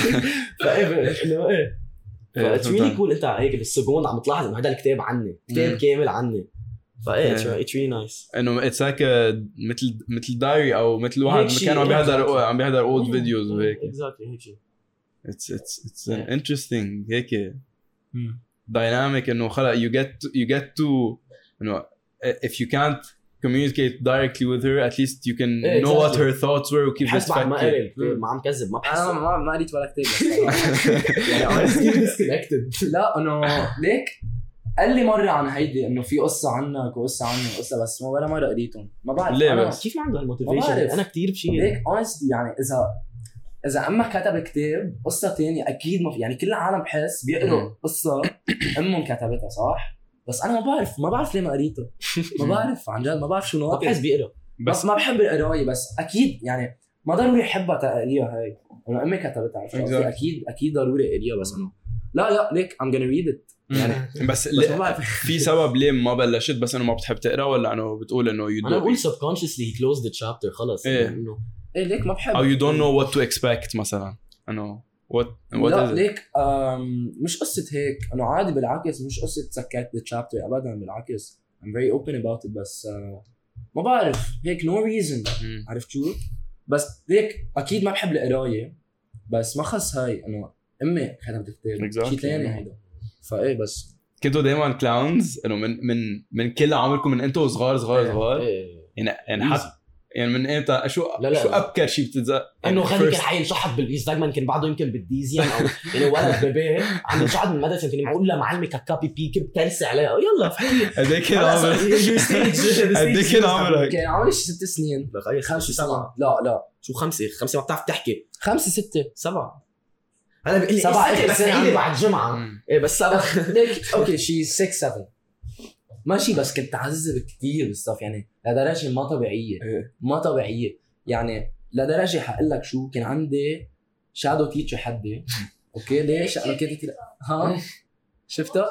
إنه it's really cool أنت هيك بالسكوند عم تلاحظ إنه هذا الكتاب عني كتاب كامل عني it's really nice إنه it's like مثل دايري أو مثل واحد كانوا عم بيحضر old videos وهيك exactly هيك شيء it's interesting هيك dynamic انه خلق you get to انه if you can't communicate directly with her at least you can know what her thoughts were وكيف حس بعد ما بتفكر. قريت ما عم كذب ما بحس انا ما قريت ولا كتاب يعني honestly disconnected. لا انه ليك قال لي مره عن هيدي انه في قصه عنك وقصه عني وقصه بس ما ولا مره قريتهم ما بعرف ليه أنا بس؟ كيف ما عنده ما هالموتيفيشن؟ بعرف. انا كتير بشيء ليك honestly يعني اذا امك كتب كتاب قصه تانية اكيد ما في يعني كل العالم بحس بيقروا قصه امهم كتبتها صح بس انا ما بعرف ليه ما قريتها ما بعرف عن جد ما بعرف شو ما ناقص بحس بيقرا بس ما بحب القرايه بس اكيد يعني ما ضروري احبها تقريها هاي انا امي كتبتها عرفت قصدي؟ اكيد ضروري اقريها بس انه لا ليك I'm gonna read it يعني بس بس ما بعرف في سبب ليه ما بلشت بس انه ما بتحب تقرا ولا انه بتقول انه you انا بقول don't subconsciously he closed the chapter خلص إيه. انه ايه ليك ما بحب او you don't know what to expect مثلا انه what لا is it ليك مش قصة هيك انه عادي بالعكس مش قصة سكرت الشابتر ابدا بالعكس I'm very open about it بس ما بعرف هيك no reason مم. عرفت شو بس ليك اكيد ما بحب القراية بس ما خص هاي انه امي كتبت كتاب Exactly. شيء ثاني هيدا فايه بس كنتوا دايما كلاونز انه من كل عمركم من انتوا صغار إيه. يعني حتى يعني من امتى شو لا. شو ابكر شيء بتتذكر انه غني كان حينشحط بالانستغرام كان بعده يمكن بالديزيان او يعني ولد بيبي عم ينشحط من المدرسه يمكن معقول لمعلمي كابي بي كب كارثه عليها يلا فحكي قد ايه كان عمرك قد ايه كان عمرك كان عمري 6 سنين 5 7 لا شو 5 ما بتعرف تحكي 5 6 7 هلا بيقول لي 7 بس عيدي بعد الجمعه ايه بس 7 ليك اوكي شي 6 7 ماشي بس كنت عذب كتير بالصف يعني لدرجه ما طبيعيه يعني لدرجه حقول لك شو كان عندي شادو تيتشر حدي اوكي ليش انا كنت ها شفتها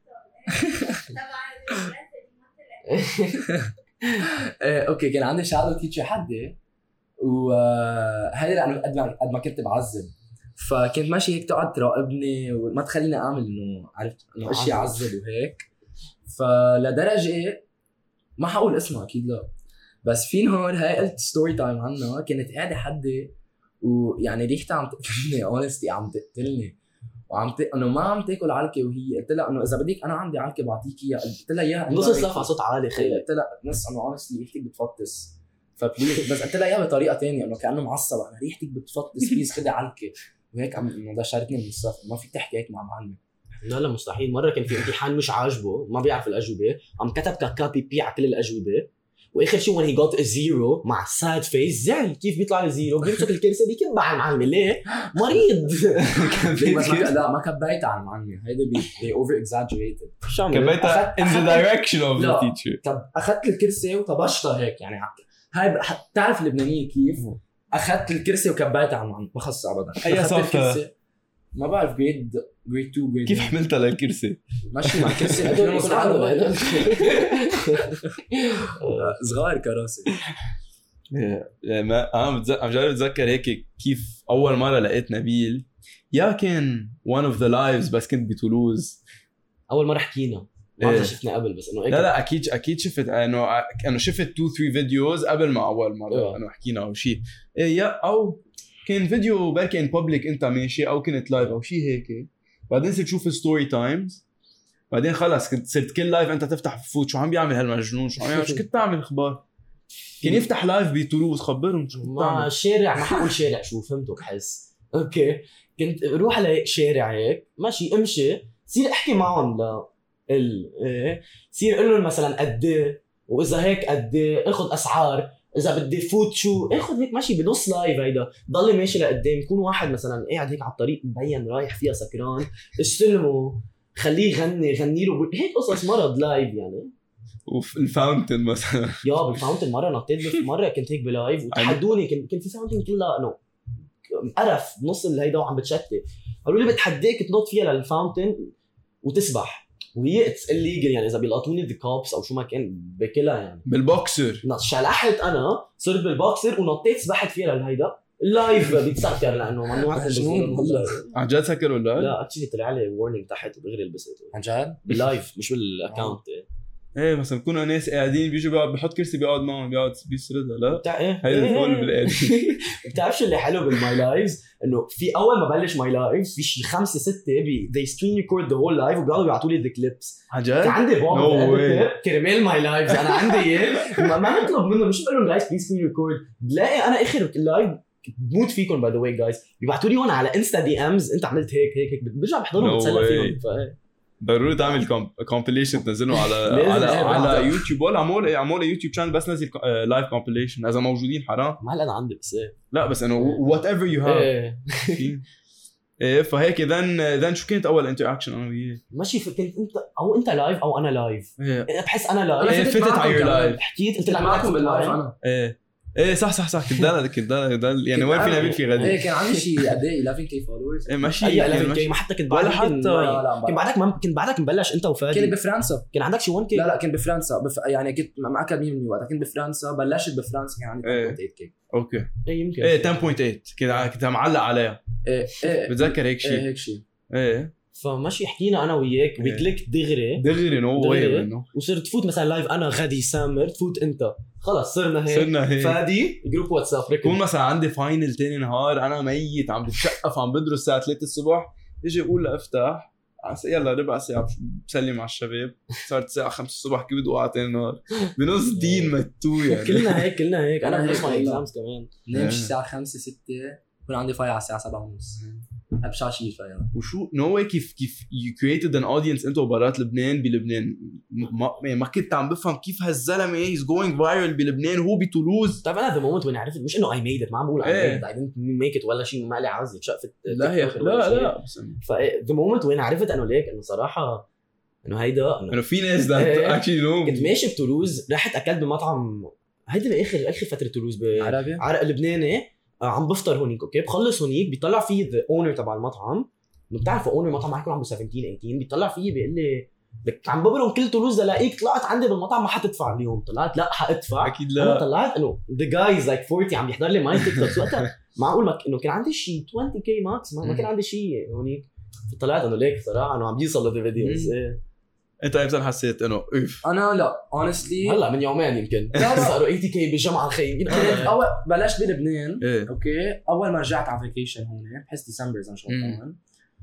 اوكي كان عندي شادو تيتشر حدي وهذا لانه قد ما كنت بعذب فكنت ماشي هيك تقعد تراقبني وما تخليني اعمل انه عرفت انه اشياء عذب وهيك فلدرجه ما حقول اسمها اكيد لا بس في نهار هاي قلت ستوري تايم عنها كانت قاعده حدي ويعني ريحتها عم تقتلني اونستي عم تقتلني انه ما عم تاكل علكه وهي قلت لها انه اذا بدك انا عندي علكه بعطيك اياها قلت لها اياها نص الصف على صوت عالي خير قلت لها نص انه اونستي ريحتك بتفطس فبليز بس قلت لها اياها بطريقه ثانيه انه كانه معصب انا ريحتك بتفطس بليز خدي علكه وهيك عم انه دشرتني من الصف ما فيك تحكي هيك مع معلمه لا مستحيل مره كان في امتحان مش عاجبه ما بيعرف الاجوبه عم كتب كابي بي على كل الاجوبه واخر شيء when he got a zero مع sad face زعل كيف بيطلع لي زيرو بيمسك الكرسي بيكب على المعلمه ليه مريض لا ما كبيتها على المعلمه هيدا they over exaggerated شو عملت كبيتها in the direction of the لا. teacher طب اخذت الكرسي وطبشتها هيك يعني هاي بتعرف اللبنانيه كيف اخذت الكرسي وكبيتها على المعلمه ما خص ابدا أي أخذت صف؟ الكرسي ما بعرف جريد 2 جريد كيف حملتها للكرسي ماشي مع الكرسي هدول يكون عنده صغار كراسي انا عم جرب اتذكر هيك كيف اول مره لقيت نبيل يا كان one of the lives بس كنت بتولوز اول مره حكينا ما إيه. شفنا قبل بس انه لا اكيد شفت انه شفت 2-3 فيديوز قبل ما اول مره إيه. انه حكينا او شيء يا او كان فيديو بركي ان بابليك انت ماشي او كنت لايف او شيء هيك بعدين صرت تشوف ستوري تايمز بعدين خلص كنت صرت كل لايف انت تفتح فوت شو عم بيعمل هالمجنون شو عم يعمل شو كنت تعمل اخبار كان يفتح لايف بتولوز خبرهم شو كنت ما تعمل الشارع ما حقول شارع شو فهمتوا بحس اوكي كنت روح على شارع هيك ماشي امشي صير احكي معهم ايه صير اقول لهم مثلا قد ايه واذا هيك قد ايه اخذ اسعار اذا بدي فوت شو اخذ هيك ماشي بنص لايف هيدا ضلي ماشي لقدام يكون واحد مثلا قاعد هيك على الطريق مبين رايح فيها سكران استلمه خليه يغني له هيك قصص مرض لايف يعني وفي الفاونتن مثلا يا بالفاونتن مره نطيت مره كنت هيك بلايف وتحدوني كنت في فاونتن كلها انه قرف بنص الهيدا وعم بتشتت قالوا لي بتحديك تنط فيها للفاونتن وتسبح وهي اتس الليجل يعني اذا بيلقطوني ذا كوبس او شو ما كان بكلها يعني بالبوكسر شلحت انا صرت بالبوكسر ونطيت سبحت فيها للهيدا اللايف بيتسكر لانه ممنوع عن جد سكر ولا لا اكشلي طلع لي وورنينج تحت ودغري لبست عن جد باللايف مش بالاكونت ايه مثلا بكونوا ناس قاعدين بيجوا بحط كرسي بيقعد معهم بيقعد بيسردها لا بتاع ايه هيدا الفول بالقاعدين. بتعرفش اللي حلو بالماي لايفز انه في اول ما بلش ماي لايفز في شي 5 6 they screen record the whole live وبيقعدوا يبعتوا لي the clips. عن كان جد؟ عندي No بابا way. كرمال ماي لايفز انا عندي اياه ما نطلب منه مش بقول لهم جايز بليز سكرين ريكورد بلاقي انا اخر لايف بموت فيكم باي ذا واي جايز بيبعتوا لي هون على انستا دي امز انت عملت هيك برجع بحضرهم No بتسلى way. فيهم ضروري تعمل كومبيليشن تنزله على لازم. على يوتيوب ولا عمول يوتيوب شانل بس نزل لايف كومبيليشن اذا موجودين حرام. ما هلا انا عندي بس لا بس انه وات ايفر يو هاف ايه ايه فهيك ذن شو كانت اول انتراكشن انا وياه؟ ماشي كنت انت لايف او انا لايف ايه بحس انا أنا لايف فتت على يور لايف حكيت قلت كنت لك معكم باللايف انا ايه صح كنت دل يعني وين فينا نبيل في غدي ايه كان عندي شيء قد ايه 11k فولورز ايه ماشي اي يعني 11 ماشي. كي ما حتى كنت ولا بعدك حتى كنت بعدك مبلش انت وفادي كنت بفرنسا كان عندك شي 1 كي لا كنت بفرنسا يعني كنت مع اكاديمي من وقتها كنت بفرنسا بلشت بفرنسا كان عندي إيه. 10.8k اوكي ايه يمكن ايه 10.8 كنت معلق عليها ايه بتذكر هيك ايه شيء هيك شيء ايه فماشي حكينا انا وياك وكليك دغري نو واي دغري. منه وصرت تفوت مثلا لايف انا غادي سامر تفوت انت خلص صرنا هيك فادي جروب واتساب كون ركن مثلا عندي فاينل تاني نهار انا ميت عم بتشقف عم بدرس الساعه 3 الصبح يجي بقول لافتح يلا ربع ساعه بسلم على الشباب صارت الساعه 5 الصبح كيف بدي اوقع تاني نهار بنص دين متو يعني كلنا هيك انا أنا بسمع هيك اكزامز كمان نمشي الساعه 5 6 يكون عندي فاي على الساعه 7:30 ابشع شيء فيها وشو نو واي كيف يو كرييتد ان اودينس انتو برات لبنان بلبنان ما كنت عم بفهم كيف هالزلمه هيز جوينج فايرل بلبنان وهو بتولوز. طيب انا ذا مومنت وين عرفت مش انه اي ميد ات ما عم بقول إيه. اي ميد ات اي دنت ميك ات ولا شيء ما لي عازي شقفت لا هي لا بس فذا مومنت وين عرفت انه ليك انه صراحه انه هيدا انه في ناس ذات إيه. اكشلي نو كنت ماشي بتولوز رحت اكلت بمطعم هيدا باخر فتره تولوز عربي بعرق لبناني عم بفطر هونيك اوكي بخلص هونيك بيطلع في ذا اونر تبع المطعم انه بتعرف اونر المطعم معي يكون عنده 17 18 بيطلع فيي بيقول لي لك عم ببرم كل تولوز لاقيك طلعت عندي بالمطعم ما حتدفع اليوم طلعت لا حادفع اكيد انا لا طلعت انه ذا جايز لايك 40 عم يحضر لي ماي تيك توك وقتها معقول انه كان عندي شيء 20k ماكس ما كان عندي شيء هونيك فطلعت انه ليك صراحه انه عم بيوصل للفيديوز انت امتى حسيت انه اوف انا لا honestly هلا من يومين يمكن لا. صاروا 80k بالجامعه خي كنت اول بلشت بلبنان ايه اوكي اول ما رجعت على فيكيشن هون بحس ديسمبر اذا مش غلطان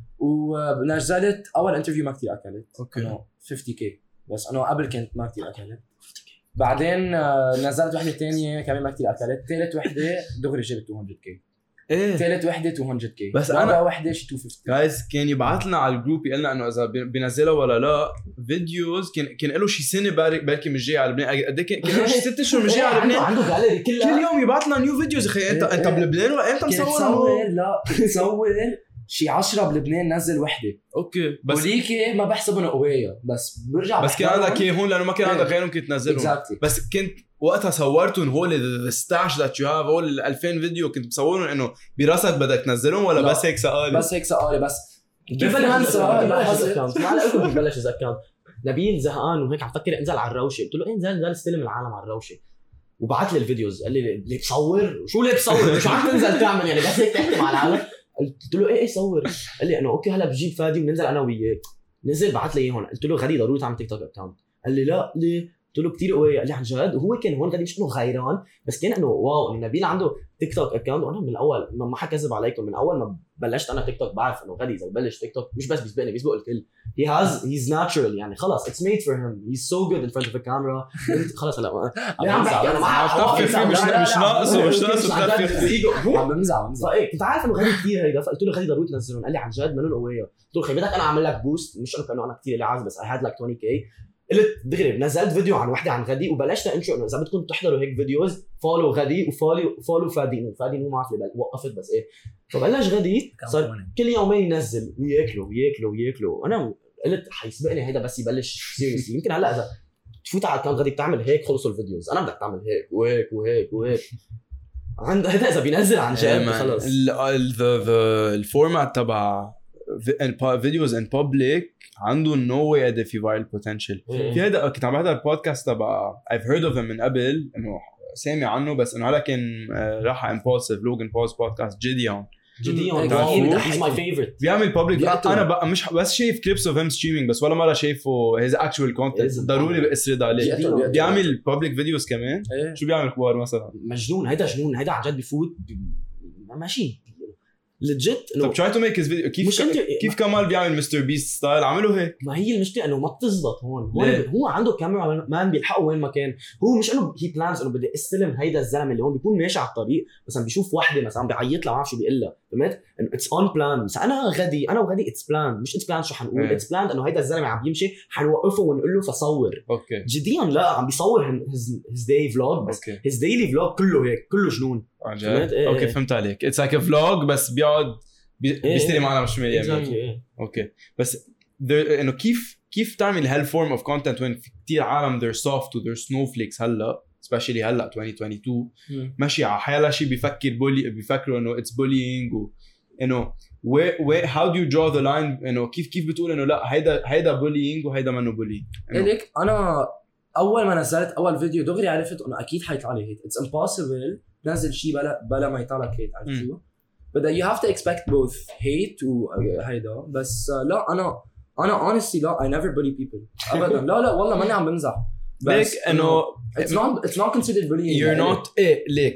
ونزلت اول انترفيو ما كثير اكلت اوكي انه 50k بس انه قبل كنت ما كثير اكلت بعدين نزلت وحده ثانيه كمان ما كثير اكلت ثالث وحده دغري جبت 200k ايه ثالث وحده 200k بس رابع أنا- وحده شي 250 جايز كان يبعث لنا على الجروب يقول لنا انه اذا بينزلها ولا لا فيديوز كان له شي سنه بركي مش جاي على لبنان قد ايه كان له شي 6 اشهر مش جاي على لبنان عنده جاليري كل كلها يوم يبعث لنا نيو فيديوز اخي انت بلبنان ولا امتى كنت مصور صور لا كنت صور شي 10 بلبنان نزل وحده اوكي بس وليكي ما بحسبهم قويه بس برجع بس كان عندك ايه هون لانه ما كان عندك غيرهم كنت تنزلهم اكزاكتلي بس كنت وقتها صورتهم هول الستاش ذات يو هاف هول 2000 فيديو كنت بصورهم انه براسك بدك تنزلهم ولا لا. بس هيك سؤال بس هيك سؤالي بس كيف بلش ننسى اكونت ما على لكم ببلش اذا اكونت نبيل زهقان وهيك عم فكر انزل على الروشه قلت له إيه انزل استلم العالم على الروشه وبعت لي الفيديوز قال لي ليه بصور شو ليه بصور شو عم تنزل تعمل يعني بس هيك تحكي مع العالم قلت له ايه صور قال لي انه اوكي هلا بجيب فادي وبننزل انا وياك نزل بعت لي اياه هون قلت له غادي ضروري تعمل تيك توك اكونت قال لي لا ليه قلت له كثير قوي قال لي عن جد وهو كان هون غادي مش انه غيران بس كان انه واو انه نبيل عنده تيك توك اكونت وانا من الاول ما حكذب عليكم من اول ما بلشت انا تيك توك بعرف انه غادي اذا ببلش تيك توك مش بس بيسبقني بيسبق الكل he's natural يعني خلص it's made for him he's so good in front of a camera خلص هلا ليه عم بحكي انا طفي فيه مش ناقصه عم بمزع فايه كنت عارف انه غادي كثير هيدا فقلت له غادي ضروري تنزلهم قال لي عن جد منون قويه قلت له خي بدك انا اعمل لك بوست مش انه كانه انا كثير اللي عازم بس I had like 20k قلت دغري نزلت فيديو عن وحده عن غدي وبلشت انشر انه اذا بدكم تحضروا هيك فيديوز فولو غدي وفولو فادي ما عارف ليه وقفت بس ايه فبلش غدي صار كل يومين ينزل وياكلوا انا قلت حيسبقني هيدا بس يبلش سيريس يمكن هلا اذا تفوت على الكام غدي بتعمل هيك خلصوا الفيديوز انا بدك تعمل هيك وهيك عند هذا اذا بينزل عن جد خلص الفورمات تبع فيديوز ان بابليك عنده نو واي قد في فايرال بوتنشل في هذا كنت عم بحضر البودكاست تبع I've heard of him من قبل انه سامع عنه بس انه هلا كان راح امبولسيف لوجن بولز بودكاست جيديون جديا بيضحك. he's my favorite. بيعمل public. بيقتل. انا بقى مش بس شايف clips of him streaming بس ولا مره شايفه his actual content. ضروري بأسرد عليه. بيقتل. بيعمل public videos كمان. ايه شو بيعمل كبار مثلا؟ مجنون هيدا جنون هيدا عن جد بفوت ماشي لجيت انه طب try to make his video كيف كمال بيعمل مستر بيست ستايل عمله هيك. ما هي المشكله انه ما بتزبط هون ليه؟ هو عنده كاميرا مان بيلحقه وين ما كان. هو مش انه هي بلانز انه بدي استلم هيدا الزلمه اللي هون بيكون ماشي على الطريق مثلا بيشوف وحده مثلا بيعيط لها ما بعرف شو بيقول لها فهمت انه اتس اون بلان. بس انا وغدي اتس بلان مش اتس بلان شو حنقول اتس بلان انه هيدا الزلمه عم يمشي حنوقفه ونقول له فصور. اوكي جديا لا عم بيصور هيز داي فلوج بس اوكي هيز ديلي فلوج كله هيك كله جنون. عن جد؟ فهمت؟ إيه. اوكي فهمت عليك. اتس لايك ا فلوج بس بيقعد بيستلم معنا مش مليان. اوكي بس انه كيف تعمل هالفورم اوف كونتنت وين في كتير عالم they're soft و they're snowflakes هلا especially هلا 2022 ماشي على حيلا شيء بيفكروا انه it's bullying و انه how do you draw the line انه كيف بتقول انه لا هيدا bullying وهيدا منه bullying. ليك انا اول ما نزلت اول فيديو دغري عرفت انه اكيد حيطلع لي هيت. اتس امبوسيبل تنزل شيء بلا ما يطلع لك هيت. عرفت شو؟ but you have to expect both hate وهيدا. بس لا انا honestly لا I never bully people ابدا. لا والله ماني عم بمزح. ليك انه it's not considered bullying. you're not ليك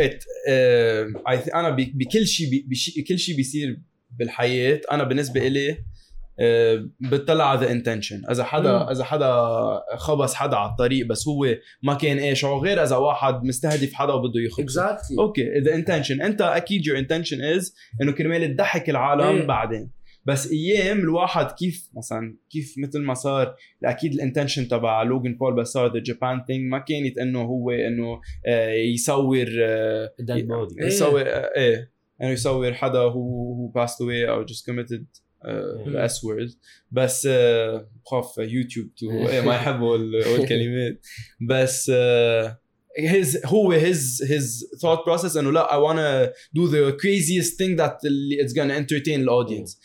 انا بكل شيء بيصير بالحياة انا بالنسبة إلي بتطلع على intention. اذا حدا خبص حدا على الطريق بس هو ما كان ايش او غير اذا واحد مستهدف حدا وبده يخبص exactly. اوكي the intention انت اكيد your intention is انه كرمال تضحك العالم بعدين. بس ايام الواحد كيف مثل ما صار اكيد الانتنشن تبع لوغان بول بس صار the Japan thing ما كانت انه هو انه يصور انه يصور حدا who passed away او just committed the S word. بس بخاف يوتيوب ما يحبوا الكلمات. بس his thought process انه لا I wanna do the craziest thing that it's gonna entertain the audience.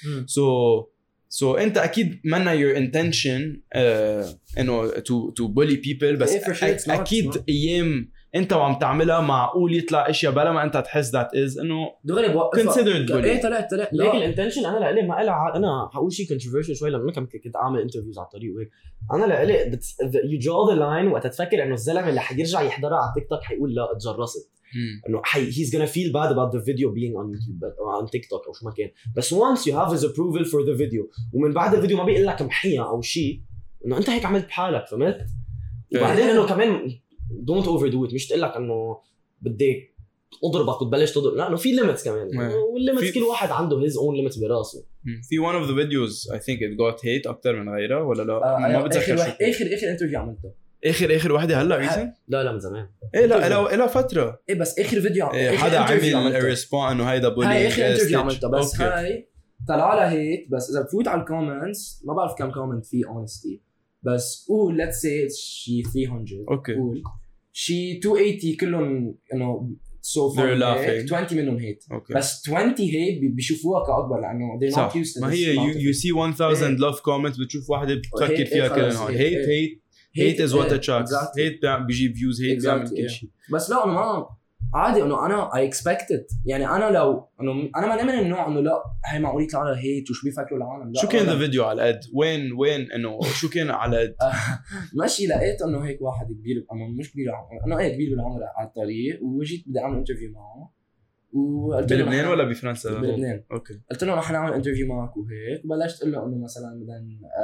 So انت اكيد منا your intention انه to bully people بس اكيد ايام انت وعم تعملها معقول يطلع اشياء بلا ما انت تحس that is انه دغري considered bullying. ايه طلع ليك الانتنشن انا لإلي ما إلها. انا هقول شيء controversial شوي لما كنت اعمل انترفيوز على الطريق وهيك. انا لإلي you draw the line وقت تفكر انه الزلمه اللي حيرجع يحضرها على تيك توك حيقول لا اتجرست انه he's gonna feel bad about the video being on YouTube or on TikTok او شو ما كان. بس once you have his approval for the video ومن بعد الفيديو ما بيقول لك محيا او شيء انه انت هيك عملت بحالك فهمت. وبعدين انه كمان don't overdo it. مش تقول لك انه بدك اضربك وتبلش تضرب لا انه في ليميتس كمان والليميتس كل واحد عنده his own limits براسه. في one of the videos I think it got hate اكتر من غيرها ولا لا ما بتذكر شو اخر انترفيو عملته اخر وحده هلا ريسنت لا من زمان ايه لا فتره ايه بس اخر فيديو حدا عمل ريسبون انه هيدا بولي هاي اخر انترفيو عملته بس هاي طلع لها هيت. بس اذا بفوت على الكومنتس ما بعرف كم كومنت في honestly بس قول let's say شي 300 اوكي قول شي 280 كلهم انه so far 20 منهم هيت بس 20 هيت بيشوفوها كأكبر لأنه they're not used to ما هي you see 1000 love comments بتشوف واحدة بتفكر فيها كل نهار hate is what attracts hate بيجيب views hate بيعمل كل شيء. بس لا أنا ما عادي انه انا I expected يعني انا لو انه انا ما من النوع انه لا هي معقول يطلع لها هيت وشو بيفكروا العالم. شو كان الفيديو على قد وين انه شو كان على قد ماشي لقيت انه هيك واحد كبير مش كبير انه ايه كبير بالعمر على الطريق وجيت بدي اعمل انترفيو معه وقلت له بلبنان ولا بفرنسا؟ بلبنان. اوكي قلت له رح نعمل انترفيو معك وهيك وبلشت اقول له انه مثلا بدنا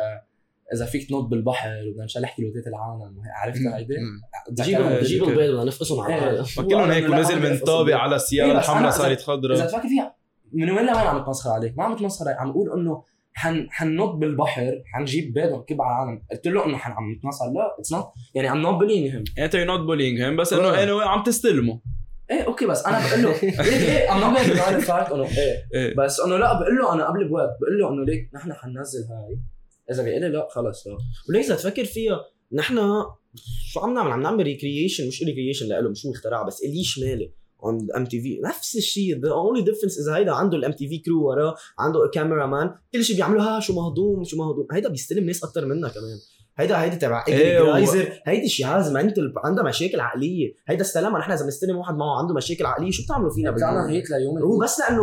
اذا فيك تنط بالبحر وبدنا نشلح كيلوتات العالم عرفتها هيدي جيبوا البيض بدنا نفقسهم على حالها كلهم هيك ونزل من طابق على السياره الحمراء صارت خضراء. اذا تفكر فيها من وين لوين عم تمسخر عليك؟ ما عم تمسخر عليك عم اقول انه حننط بالبحر حنجيب بيض ونكب على العالم. قلت له انه عم نتنصر لا اتس نوت يعني I'm not bullying him انت you're not bullying him بس انه عم تستلمه ايه اوكي بس انا بقول له ايه I'm not going to fight انه ايه بس انه لا بقول له انا قبل بوقت بقول له انه ليك نحن حننزل هاي اذا بيقول لي لا خلص لا وليك تفكر فيها نحن شو عم نعمل ريكرييشن مش ريكرييشن له مش هو اخترع بس اللي شمالي on MTV نفس الشيء. the only difference is هيدا عنده الMTV crew وراه عنده كاميرا مان كل شيء بيعملوها شو مهضوم هيدا بيستلم ناس اكتر منا كمان. هيدا تبع جرايزر هيدي شياز منتل عندها مشاكل عقليه. هيدا استلمها نحن اذا بنستلم واحد معه عنده مشاكل عقليه شو بتعملوا فينا بتعمل هيك ليوم هو بس لانه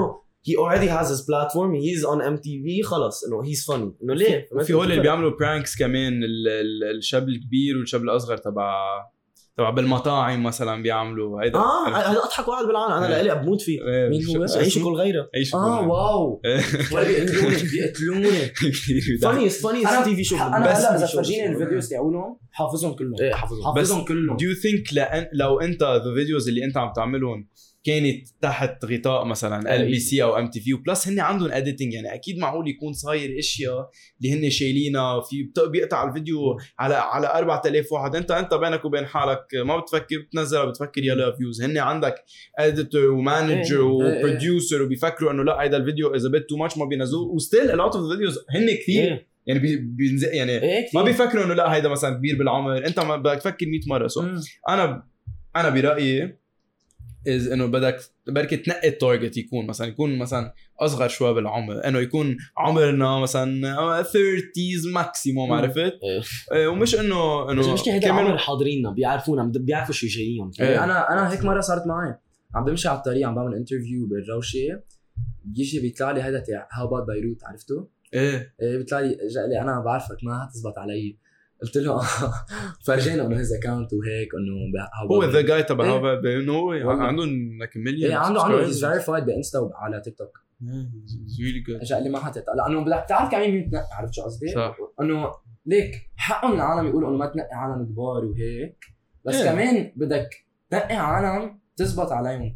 he already has his platform, he's on MTV, خلص انه he's funny انه ليه في هول اللي بيعملوا برانكس كمان الشاب الكبير والشاب الاصغر تبع بالمطاعم مثلا بيعملوا هيدا هذا اضحك واحد بالعالم انا لإلي بموت فيه. مين هو؟ عيش كل غيره. واو ولا بيقتلوني funny تي في شو. انا هلا اذا فرجيني الفيديوز تاعولهم حافظهم كلهم. ايه حافظهم كلهم. do you think لو انت الفيديوز اللي انت عم تعملهم كانت تحت غطاء مثلا LBC او MTV وبلس هن عندهم اديتنج يعني اكيد معقول يكون صاير اشياء اللي هن شايلينها في بيقطع الفيديو على 4000 واحد انت بينك وبين حالك ما بتفكر بتنزلها بتفكر يلا فيوز هن عندك اديتور ومانجر وبروديوسر وبيفكروا انه لا هذا الفيديو اذا بيت تو ماتش ما بينزلوه وستيل a lot of the videos هن كثير يعني بينزل يعني ما بيفكروا انه لا هيدا مثلا كبير بالعمر انت ما بدك تفكر 100 مره انا برايي انه بدك بركي تنقي التارجت يكون مثلا اصغر شوي بالعمر انه يكون عمرنا مثلا 30s ماكسيموم عرفت ومش انه مش هيدا عمر حاضريننا بيعرفونا بيعرفوا شو جايين. انا هيك مره صارت معي عم بمشي على الطريق عم بعمل انترفيو بالروشه بيجي بيطلع لي هذا تاع هاو اباوت بيروت عرفته ايه بيطلع لي جاء لي انا بعرفك ما هتزبط علي قلت له فرجينا انه هيز اكاونت وهيك انه هو ذا جاي تبع هذا انه عندهم لك مليون عنده هيز فيريفايد بانستا وعلى تيك توك ريلي جود جاء لي ما حطيت لانه بدك تعرف كمان مين تنقي عرفت شو قصدي انه ليك حقهم العالم يقولوا انه ما تنقي عالم كبار وهيك بس كمان بدك تنقي عالم تزبط عليهم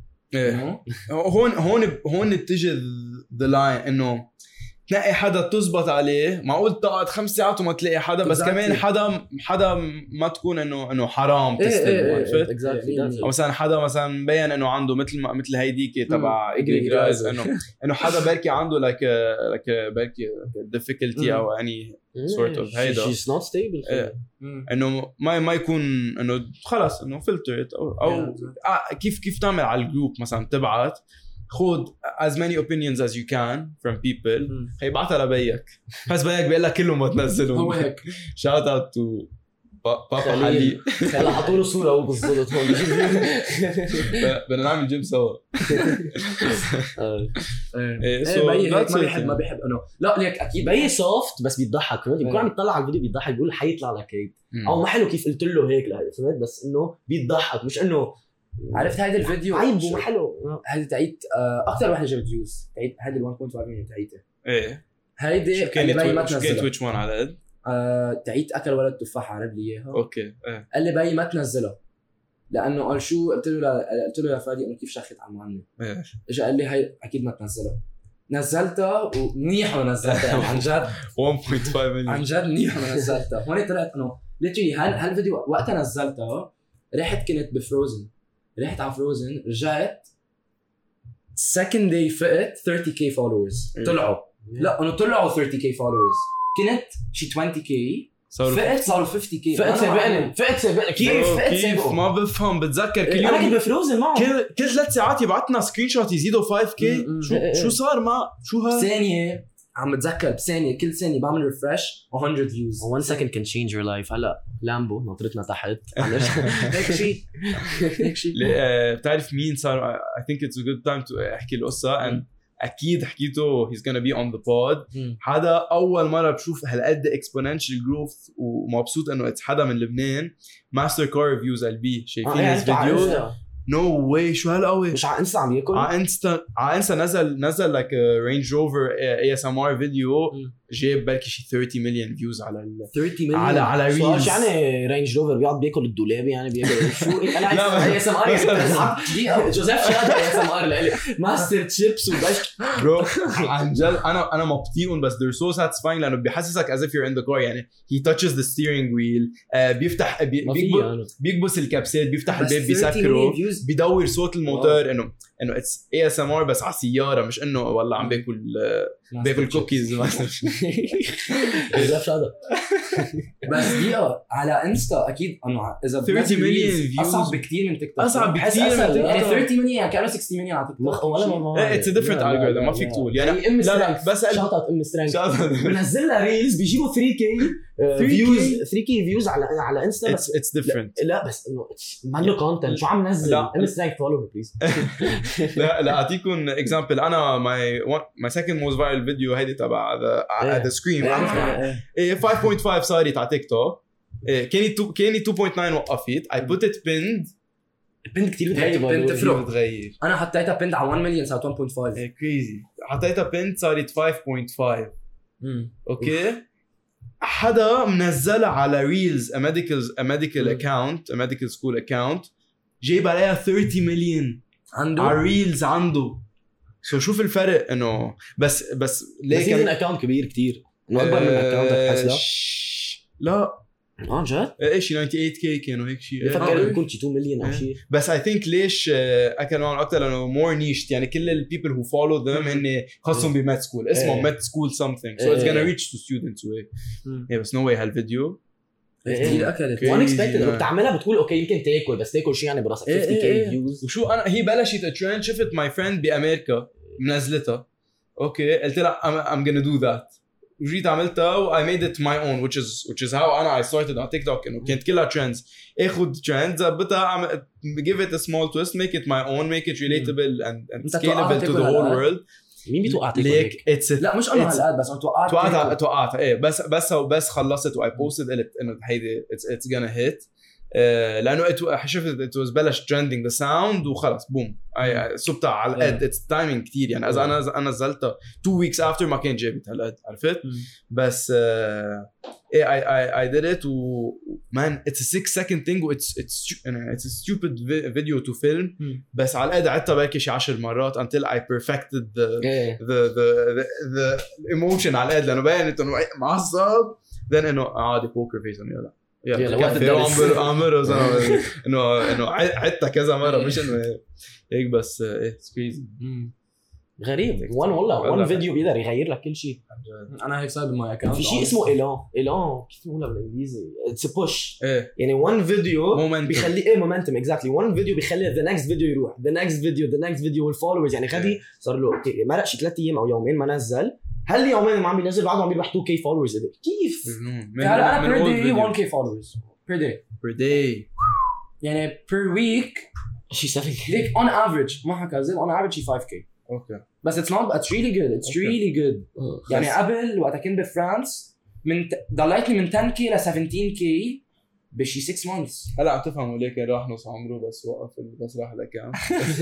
هون بتجي ذا لاين انه تلاقي حدا تزبط عليه معقول تقعد 5 ساعات وما تلاقي حدا بس كمان حدا ما تكون انه حرام تستلم عرفت او مثلا حدا مثلا مبين انه عنده مثل هيديك تبع جرايز انه حدا بركي عنده like بركي difficulty او يعني sort of هيدا she's not stable انه ما يكون انه خلص انه فلتر او كيف تعمل على الجروب مثلا تبعت خود as many opinions as you can from people هيبعتها لبيك بس بيك بيقول لك كلهم ما تنزلهم هو هيك shout out to بابا حلي هلا حطوا له صوره هو بالضبط هون بدنا نعمل جيم سوا بي ما بيحب انه لا ليك اكيد بي سوفت بس بيضحك بيكون عم يطلع على الفيديو بيضحك بيقول حيطلع لك هيك او ما حلو كيف قلت له هيك فهمت بس انه بيضحك مش انه عرفت هيدا الفيديو عيب وما حلو هيدا تعيد اكثر وحده جابت فيوز تعيد هيدا 1.5 مليون تعيته ايه هيدا اللي ما تنزلها كانت ويتش وان على قد تعيد اكل ولد تفاحه عرب لي اياها اوكي قال لي باي ما تنزلها لانه قال شو قلت له يا فادي انه كيف شخت على المعلم اجى قال لي هي اكيد ما تنزلها نزلتها ومنيح ونزلتها عن جد 1.5 مليون عن جد منيح ونزلتها هون طلعت انه ليتري هالفيديو وقتها نزلتها رحت كنت بفروزن رحت على فروزن رجعت second day فقت 30k followers طلعوا لا انه طلعوا 30k followers كنت شي 20k فقت صاروا 50k فقت سابقني كيف ما بفهم بتذكر كل يوم انا كنت بفروزن معه كل 3 ساعات يبعثنا سكرين شوت يزيدوا 5k شو صار شو ها ثانيه عم بتذكر بثانيه كل ثانيه بعمل ريفرش 100 فيوز 1 second can change your life هلا لامبو نطرتنا تحت هيك شيء بتعرف مين صار I think it's a good time to احكي القصه and اكيد حكيته he's gonna be on the pod هذا اول مره بشوف هالقد exponential growth ومبسوط انه حدا من لبنان ماستر كار ريفيوز LB شايفين الفيديو نو واي شو هالقوي مش على انستا عم ياكل على انستا نزل like a Range Rover ASMR فيديو جاب بركي شي 30 مليون فيوز على 30 مليون على ريلز شو يعني رينج روفر بيقعد بياكل الدولاب يعني بياكل شو انا اي اس ام ار جوزيف شاد اي اس ام ار لإلي ماستر تشيبس وبش برو عن جد انا مبطيئون بس they're so satisfying لانه بيحسسك as if you're in the car يعني he touches the steering wheel بيفتح بيكبس الكبسات بيفتح الباب بيسكره بيدور صوت الموتور انه اتس اي اس ام ار بس على سياره مش انه والله عم باكل كوكيز مثلا بس دي على انستا اكيد انه اذا 30 مليون فيوز اصعب بكثير من تيك توك اصعب بكثير من تيك توك يعني 30 مليون كانوا 60 مليون على تيك توك ولا اتس ا ديفرنت الجوريثم ما فيك تقول يعني لا بس شوت اوت ام سترينج بنزل لها ريلز بيجيبوا 3k فيوز 3k فيوز على انستا بس it's different. لا بس انه ما له كونتنت شو عم نزل انستغرام فولو بليز. لا اعطيكم اكزامبل. انا my second most viral video هيدي تبع the scream 5.5 صارت على تيك توك. كاني 2.9 وقفت. I put it pinned. البنت كتير بنت تفرق. بتغير. انا حطيتها بنت على 1 مليون صارت 1.5. كريزي. حطيتها بنت صارت 5.5. اوكي. حدا منزلها على ريلز a medical account, a medical school account, جايب عليها 30 مليون عنده على ريلز عنده. شوف الفرق انه بس ليه كان اكاونت كبير كتير انه اكبر من اكاونتك حسلا. لا جد ايش 98k كانوا هيك شيء. بفكر يكون شي 2 مليون او شيء. بس I think ليش اكلوا معهم اكثر لانه more niche. يعني كل ال people who follow them هن خاصهم بميد سكول اسمه ميد سكول something, so it's gonna reach to students way. بس no way هالفيديو كثير اكلت unexpected. بتعملها بتقول اوكي يمكن تاكل بس تاكل شيء يعني براسك 50k فيوز. وشو انا هي بلشت ترند. شفت my friend بامريكا منزلتها. اوكي قلت لها I'm gonna do that. وجيت عملتها و I made it my own which is how I started on TikTok. إنه كانت كلها trends. اخد trends زبطها give it a small twist, make it my own, make it relatable and scalable to the whole world. مين بتوقعت ليك لا مش انا هالقد بس توقعت ايه بس خلصت و I posted قلت انه هيدي it's gonna hit. لانه شفت it was بلش trending the sound وخلص بوم صبتها على القد. it's timing كتير يعني. اذا انا نزلتها 2 weeks after ما كان جابت هالقد عرفت. بس I did it man it's a 6-second thing it's a stupid video to film. بس على القد عدتها بركي شي 10 مرات until I perfected the emotion على القد لانه باين انه معصب then انه عادي poker face انه يلا وقت عمره انه عدتها كذا مره مش انه هيك بس كريزي غريب. والله فيديو بيقدر يغير لك كل شيء. انا هيك صار بماي اكونت في شيء اسمه ايلان كيف بنقولها بالانجليزي اتس بوش. يعني وان فيديو بيخلي مومنتم اكزاكتلي. وان فيديو بيخلي ذا نكست فيديو يروح ذا نكست فيديو والفولورز. يعني غادي صار له مرق شي 3 ايام او يومين ما نزل. هل يومين ما عم بينزل بعده عم بيربح 2k فولورز. كيف انا per day 1k followers per day يعني per week شي 7k like on average ما حكذب on average شي 5k. اوكي بس it's really good it's really good. يعني قبل وقت كنت بفرانس ضليت لي من 10k ل 17k بشي 6 months. هلا عم تفهموا ليه كان راح نص عمره بس وقف بس راح لكام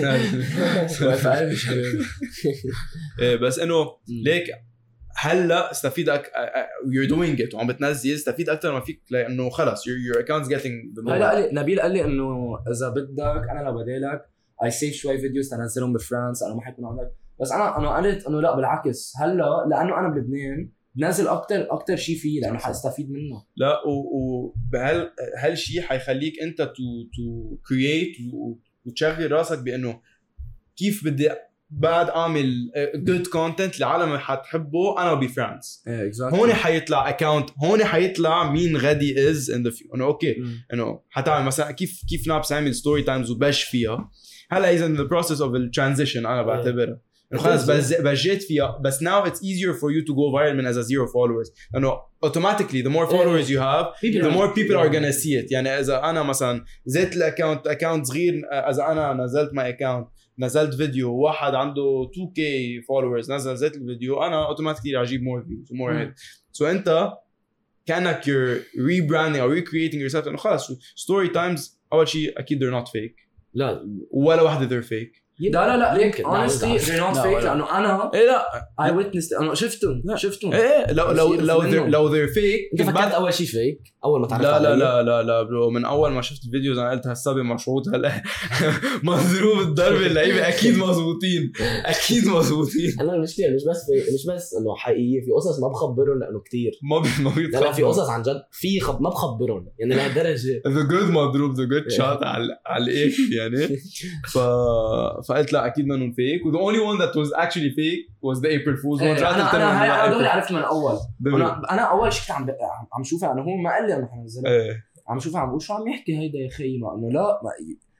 بس انه ليك هلا استفيدك you're doing it وعم بتنزل استفيد اكثر ما فيك لانه خلص your account's getting the هلا نبيل قال لي انه اذا بدك انا لو بدالك I save شوي فيديوز تنزلهم بفرانس انا ما حيكون عندك. بس انا قلت انه لا بالعكس هلا لانه انا بلبنان بنزل اكثر شيء فيه لانه حاستفيد منه. لا هالشيء حيخليك انت تو كرييت وتشغل راسك بانه كيف بدي بعد اعمل جود كونتنت العالم حتحبه انا بفرانس. هون حيطلع اكاونت هون حيطلع مين غادي از ان ذا فيو. انه اوكي انه حتعمل مثلا كيف نابس عامل ستوري تايمز وبش فيها. هلا اذا the process of the transition انا بعتبرها خلص بجيت فيها. بس now it's easier for you to go viral من as a 0 followers لانه automatically the more followers you have the more people are gonna see it. يعني اذا انا مثلا زدت الاكاونت صغير اذا انا نزلت my account نزلت فيديو واحد عنده 2k followers زدت الفيديو انا automatically اجيب more views more hit. so انت كانك you're rebranding or recreating yourself انه خلص story times اول شيء اكيد they're not fake. لا ولا واحدة they're fake. لا ليك honestly they're not fake لأنه أنا لا I witnessed أنا شفتهم لو they're fake أنت فكرت أول شيء fake أول ما تعرفت لا برو من أول ما شفت الفيديوز أنا قلت هالسبب مشروط هلا مضروب الضرب اللعيبة أكيد مزبوطين أنا المشكلة مش بس إنه حقيقية في قصص ما بخبرهم لأنه كتير ما لا في قصص عن جد في ما بخبرهم يعني لهالدرجة the good مضروب the good shot على الإخ يعني فقلت لا اكيد منهم فيك و the only one that was actually fake was the April Fool's one. انا دغري عرفت من اول. انا اول شيء عم شوفها انه هو ما قال لي انه حنزلها. عم شوفها عم بقول شو عم يحكي هيدا يا اخي ما انه لا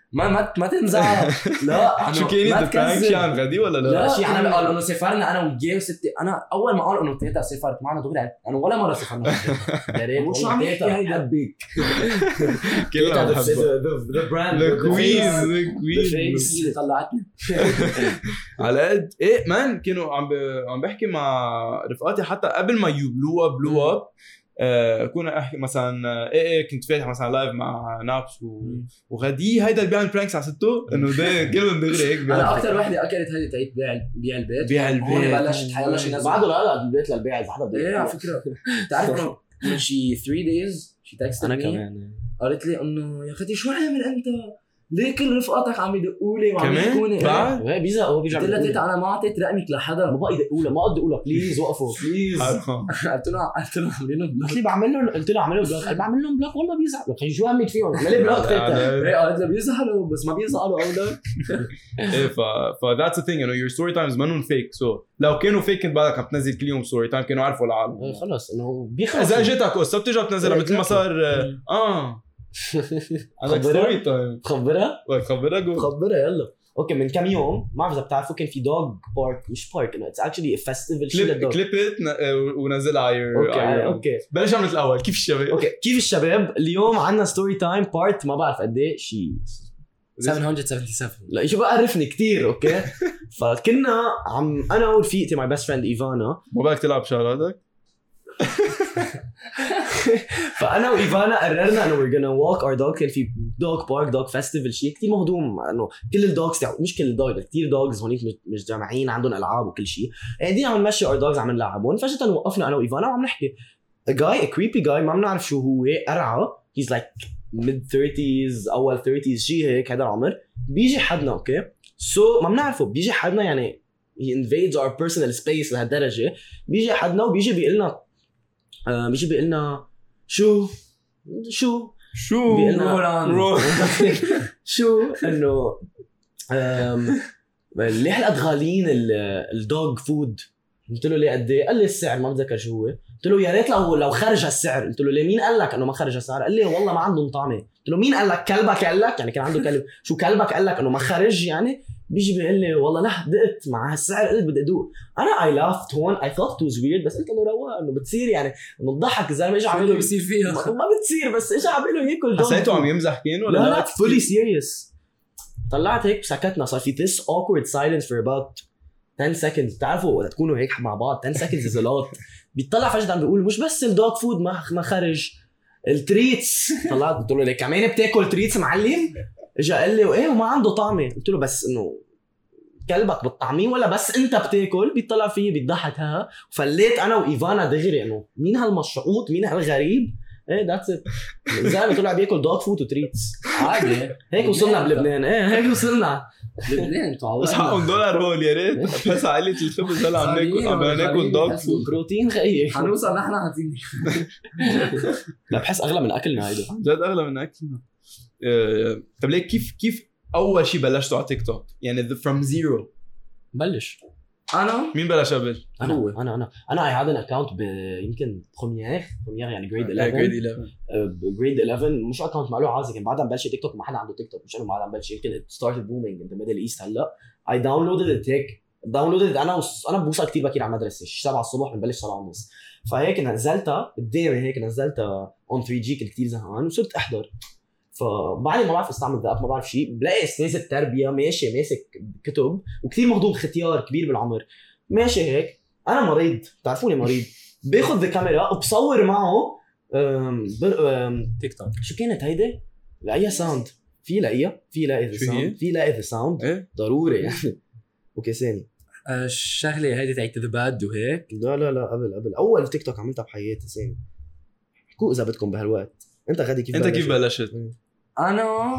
ما تنزعل. لا شو كان ما البرانك شي عن غدي ولا لا؟ لا شيء انا قال انه سافرنا انا وجاي وستي. انا اول ما قال انه تيتا سافرت معنا دغري انا ولا مره سافرنا. يا ريت شو عم يحكي هيدا بحبك كلنا بنحبها. ذا براند ذا كوين اللي طلعتني. على قد ايه مان كانوا عم بحكي مع رفقاتي حتى قبل ما بلو اب كنا احكي مثلا ايه كنت فاتح مثلا لايف مع نابس وغدي هيدا اللي بيعمل برانكس على ستو انه ده كلهم دغري هيك. انا اكثر وحده اكلت هيدي تعيد بيع البيت هون بلشت حيلا شي ناس بعده لا البيت للبيع اذا حدا بده ايه على فكره. بتعرف انه من شي 3 days شي تكست انا كمان قالت لي انه يا اخي شو عامل انت ليه كل رفقاتك عم يدقوا لي وعم يحكوني بعد هي بيزا هو بيرجع قلت لها تيتا انا ما اعطيت رقمك لحدا ما بقى يدقوا له ما قد يقول له بليز وقفوا بليز. قلت له عاملين له بلوك. قلت لي بعمل له قلت له اعمل له بلوك بعمل لهم بلوك والله بيزعلوا خي شو همك فيهم عمل لي بلوك تيتا. قالت له بيزعلوا بس ما بيزعلوا اولاد. ايه ف that's the thing you know your story times منهم fake so لو كانوا fake كنت بعدك عم تنزل كل يوم story time كانوا عارفوا العالم خلص انه بيخلص اذا اجتك قصه بترجع بتنزلها مثل ما صار عندك ستوري تايم خبرها جو خبرها يلا. اوكي من كم يوم ما بعرف اذا بتعرفوا كان في دوغ بارك مش بارك انه اتس اكشلي فيستيفال شيء للدوغ. كليبت ونزلها على اوكي بلش عملت الاول كيف الشباب. اوكي كيف الشباب اليوم عندنا ستوري تايم بارت ما بعرف قد ايه شيء 777 لا شو بقى عرفني كتير اوكي. فكنا انا ورفيقتي ماي بيست فريند ايفانا ما بدك تلعب شغلاتك. فانا وايفانا قررنا انه we're gonna walk our dog. كان في دوغ بارك دوغ فيستيفال شيء كتير مهضوم انه كل الدوغز مش كل الدوغز كتير دوغز هونيك مش جامعين عندهم العاب وكل شيء قاعدين عم نمشي our dogs عم نلعبهم. فجأة وقفنا انا وايفانا وعم نحكي a creepy guy ما بنعرف شو هو قرعه he's like mid 30s اول 30s شيء هيك هذا العمر بيجي حدنا اوكي سو ما بنعرفه بيجي حدنا يعني he invades our personal space لهالدرجه. بيجي حدنا وبيجي بيقول لنا شو بيقلنا شو انه ليه هالقد غاليين الدوغ فود. قلت له ليه قد ايه؟ قال لي السعر ما بتذكر شو هو. قلت له يا ريت لو خرج هالسعر. قلت له ليه مين قال لك انه ما خرج هالسعر؟ قال لي والله ما عندهم طعمه. قلت له مين قال لك؟ كلبك قال لك؟ يعني كان عنده كلب شو كلبك قال لك انه ما خرج يعني؟ بيجي بيقول لي والله لا دقت مع هالسعر قلت بدي ادوق. انا I laughed هون I thought it was weird بس قلت له رواق انه بتصير يعني انه تضحك الزلمه اجى عم بيصير فيها ما بتصير بس اجى عم له ياكل دوغ. حسيته عم يمزح كين ولا لا fully serious. طلعت هيك سكتنا صار في this awkward silence for about 10 seconds. بتعرفوا وقت تكونوا هيك مع بعض 10 seconds is a lot. بيطلع فجأة عم بيقول مش بس الدوغ فود ما خرج التريتس. طلعت قلت له ليك كمان بتاكل تريتس معلم؟ اجى قال لي وايه وما عنده طعمه. قلت له بس انه كلبك بالطعمين ولا بس انت بتاكل؟ بيطلع فيه بيضحك ها. وفليت انا وايفانا دغري انه مين هالمشعوط مين هالغريب. ايه ذاتس ات الزلمه طلع بياكل دوغ فود وتريتس عادي. هيك وصلنا بلبنان. ايه هيك وصلنا لبنان بس حقهم $1 هول يا ريت بس عائلة الخبز هلا عم ناكل دوغ فود بروتين خيي حنوصل نحن حاطين. لا بحس اغلى من اكلنا هيدا جد اغلى من اكلنا. طب ليك كيف اول شيء بلشتوا على تيك توك يعني from zero؟ بلش انا مين بلش قبل؟ انا اي هاد ان اكونت يمكن بروميير يعني جريد 11 مش اكونت ماله عازي كان بعدها مبلش تيك توك ما حدا عنده تيك توك مش انه بعدها مبلش يمكن ستارت بومينج ان ذا ميدل ايست. هلا اي داونلودد هيك انا بوصل كثير بكير على المدرسه 7 الصبح بنبلش 7:30 فهيك نزلتها قدامي هيك نزلتها اون 3G كنت كثير زهقان وصرت احضر. فبعدين ما بعرف استعمل ذا ما بعرف شيء بلاقي استاذ التربيه ماشي ماسك كتب وكثير مهضوم ختيار كبير بالعمر ماشي هيك. انا مريض بتعرفوني مريض باخذ الكاميرا وبصور معه تيك توك. شو كانت هيدي؟ لاقيها ساوند في لاقي ذا ساوند ضروري يعني. اوكي ثاني الشغله هيدي تاعت ذا باد وهيك. لا قبل اول تيك توك عملتها بحياتي ثاني. كو اذا بدكم بهالوقت. انت غادي كيف بلشت؟ انا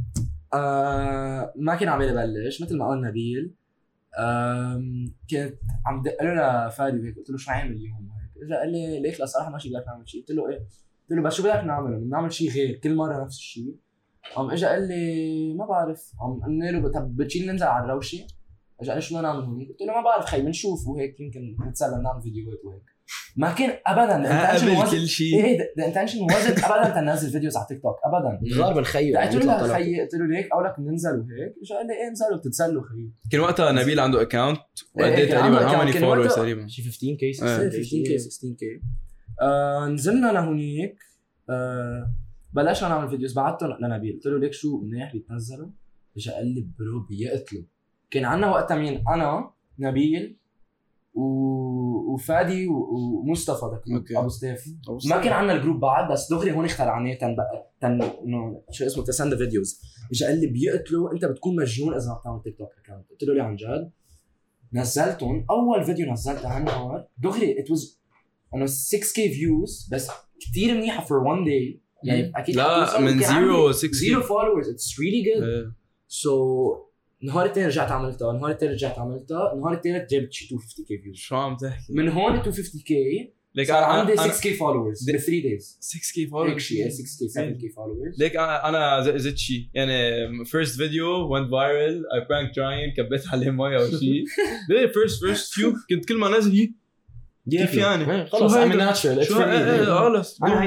ما كان عم بلش مثل ما قال نبيل. كنت عم دق له لفادي وهيك قلت له شو عامل اليوم هيك اجى قال لي ليك لا صراحه ماشي بدك نعمل شيء. قلت له ايه؟ قلت له بس شو بدك نعمل؟ بنعمل شيء غير كل مره نفس الشيء. قام اجى قال لي ما بعرف. قام قلنا له طب بتشيل ننزل على الروشه؟ اجى قال لي شو بدنا نعمل هون؟ قلت له ما بعرف خي بنشوف وهيك يمكن نتسلى نعمل فيديوهات وهيك. ما كان ابدا قبل كل شيء. ايه ذا انتنشن وازنت ابدا تنزل فيديوز على تيك توك ابدا. غار من خيو قلت له خيي قلت له ليك اولك ننزل وهيك اجى قال لي ايه انزلوا بتتسلوا خيي. كان وقتها نبيل عنده اكاونت وقد إيه، ايه كان عنده تقريبا account. how many كان وقتها- followers تقريبا شي 15k 15k 16k. نزلنا لهونيك بلشنا نعمل فيديوز. بعتهم لنبيل قلت له ليك شو منيح بيتنزلوا. اجى قال لي برو بيقتلوا. كان عنا وقتها مين؟ انا نبيل وفادي ومصطفى أوكي. ابو ستيف. ما كان عنا الجروب بعد بس دغري هون اخترعناه انه شو اسمه تسند فيديوز. اجى قال لي بيقتلوا انت بتكون مجنون اذا ما بتعمل تيك توك اكونت. قلت له ليه عن جد؟ نزلتهم اول فيديو نزلته هالنهار دغري ات واز انه 6k فيوز بس كثير منيحه for one day يعني اكيد لا من 0 6 0 followers it's really good. so النهار الثاني رجعت عملتها النهار الثالث جبت شي 250k فيوز. شو عم تحكي؟ من هون 250k ليك صار عندي أنا 6k followers ب 3 days 6k هيك followers شيء 6k 7k followers. ليك انا زدت شيء يعني first video went viral I pranked Ryan كبيت عليه مويه او شيء. ليه first few كنت كل ما نازل كيف يعني خلص شو I'm هيدا؟ natural شو خلص انا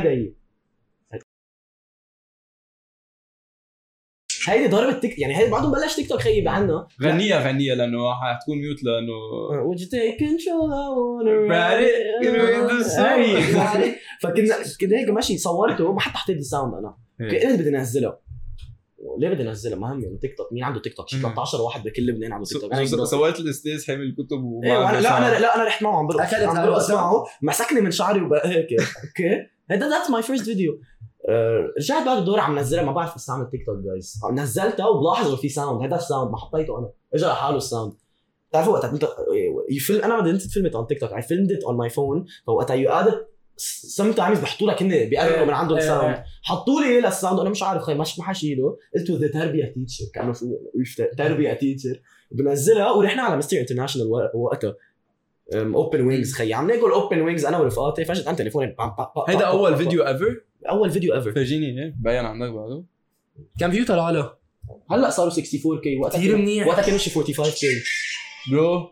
هيدي ضربت تيك يعني هيدي بعده بلش تيك توك خيب عنا. غنية لانه حتكون ميوت لانه would you take control I wanna Ride it, you know, do so. فكنا هيك ماشي صورته ما حتى حطيت الساوند انا كنت بدي انزله. ليه بدي انزله؟ مهم يعني تيك توك مين عنده تيك توك؟ شي 13 واحد بكل لبنان عنده تيك توك. سويت الاستاذ حامل الكتب لا انا رحت معه عم برقص معه مسكني من شعري وبقى هيك اوكي هذا ذاتس ماي فيرست فيديو. رجعت بعد الدور عم نزلها ما بعرف استعمل تيك توك جايز نزلتها وبلاحظ انه في ساوند. هذا الساوند ما حطيته انا اجى لحاله الساوند. بتعرفوا وقت انت يفل انا بدي انت فيلمت on TikTok I filmed it on my phone. فوقتها you added sometimes بحطوا لك هن بيقربوا من عندهم ساوند حطوا لي للساوند انا مش عارف خي مش ما حشيله. قلت ذا تربيه تيتشر كانه شو تربيه تيتشر بنزلها ورحنا على مستر انترناشونال وقتها اوبن وينجز خي عم ناكل اوبن وينجز انا ورفقاتي فجاه انت تليفوني هيدا اول فيديو ايفر فرجيني ايه باين عندك بعده كم فيو طلع له؟ هلا صاروا 64k وقتها كثير منيح. وقتها كانوا شي 45k برو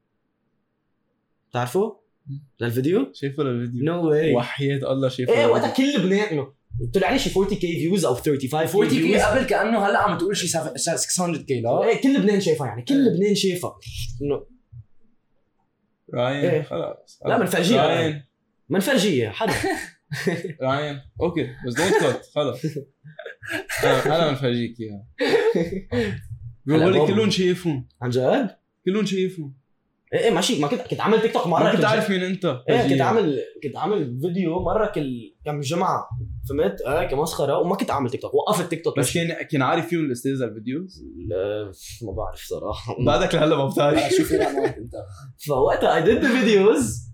بتعرفوا للفيديو شايفه الفيديو نو واي وحياة الله شايفه ايه وقتها كل لبنان انه طلع لي شي 40k فيوز او 35k 40k قبل كانه هلا عم تقول شي 600k لا ايه كل لبنان شايفها يعني كل لبنان شايفها انه راين إيه. خلاص لا منفرجيها راين منفرجيها حدا راين اوكي بس دونت كات خلاص انا منفرجيك اياها بقول لك كلهم شايفهم عن جد كلهم شايفهم ايه ماشي ما كنت عامل تيك توك مره ما كنت عارف مين انت ايه كنت عامل فيديو مره كم جمعه فهمت كمسخره وما كنت عامل تيك توك وقفت تيك توك بس كان عارف فيهم الاستاذ الفيديوز ما بعرف صراحه بعدك لهلا ما بتعرف شو في معك انت. فوقتها I did the videos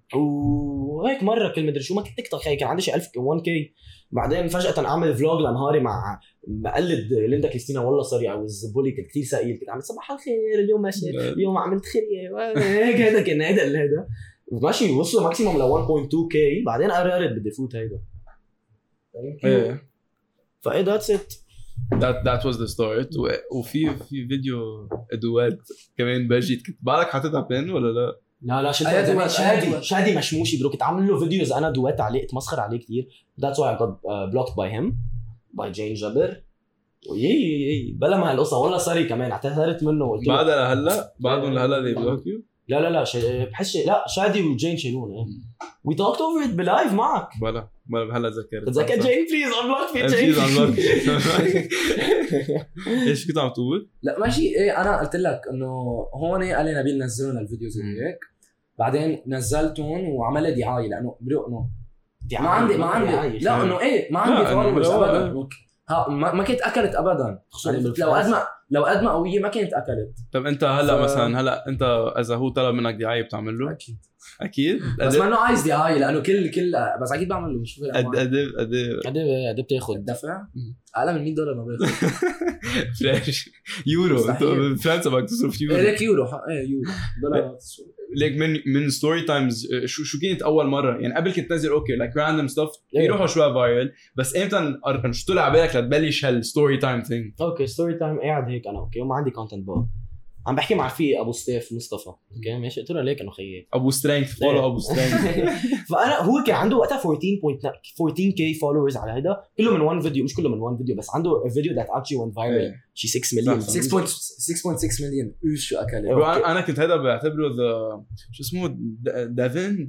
وهيك مره كل مدري شو ما كنت تيك توك كان عندي شي 1001k. بعدين فجاه اعمل فلوج لنهاري مع بقلد ليندا كريستينا والله صار او الزبولي كنت كثير ثقيل كنت عامل صباح الخير اليوم ماشي اليوم عملت خير هيك هذا كان هذا ماشي وصلوا ماكسيموم ل 1.2k. بعدين قررت بدي فوت هيدا ايه فايه ذاتس ات that was the start وفي فيديو ادوات كمان باجيت كنت بالك حاططها بين ولا لا؟ لا شادي مشموشي برو كنت عامل له فيديوز انا دوات عليه اتمسخر عليه كثير. that's why I got blocked by him by Jane جبر ويي بلا ما هالقصه والله صاري كمان اعتذرت منه وقلت له بعدها لهلا بعدهم لهلا they block you لا بحس لا شادي وجين شيلون we talked over it بلايف معك بلا هلا تذكرت تذكر جين بليز unblock me بليز جين unblock ايش كنت عم تقول؟ لا ماشي ايه انا قلت لك انه هون قال لي نبيل نزلوا لنا الفيديوز هيك بعدين نزلتهم وعمل لي دعايه لانه برو انه ما عندي لا انه ايه ما عندي فولورز ابدا ما كنت اكلت ابدا لو قد ما قويه ما كانت اكلت. طب انت هلا مثلا هلا انت اذا هو طلب منك دعايه بتعمل له؟ اكيد بس ما انه عايز دعايه لانه كل بس اكيد بعمل له مش قد بتاخذ دفع اعلى من $100 ما باخذ فلاش يورو انت فرنسا بدك تصرف يورو ليك يورو يورو دولارات ليك من ستوري تايمز شو كانت اول مره يعني قبل كنت تنزل اوكي لايك راندوم ستاف يروحوا شويه فايرل بس امتى شو طلع بالك لتبلش هالستوري تايم ثينج؟ اوكي ستوري تايم قاعد هيك انا اوكي وما عندي كونتنت بقى عم بحكي مع رفيق ابو ستيف مصطفى اوكي ماشي قلت له ليك انه خيي ابو سترينث فولو ابو سترينث. فانا هو كان عنده وقتها 14k followers على هيدا كله من وان فيديو مش كله من وان فيديو بس عنده فيديو that actually went viral شي 6 مليون 6.6 مليون شو اكل. انا كنت هذا بعتبره شو اسمه ديفن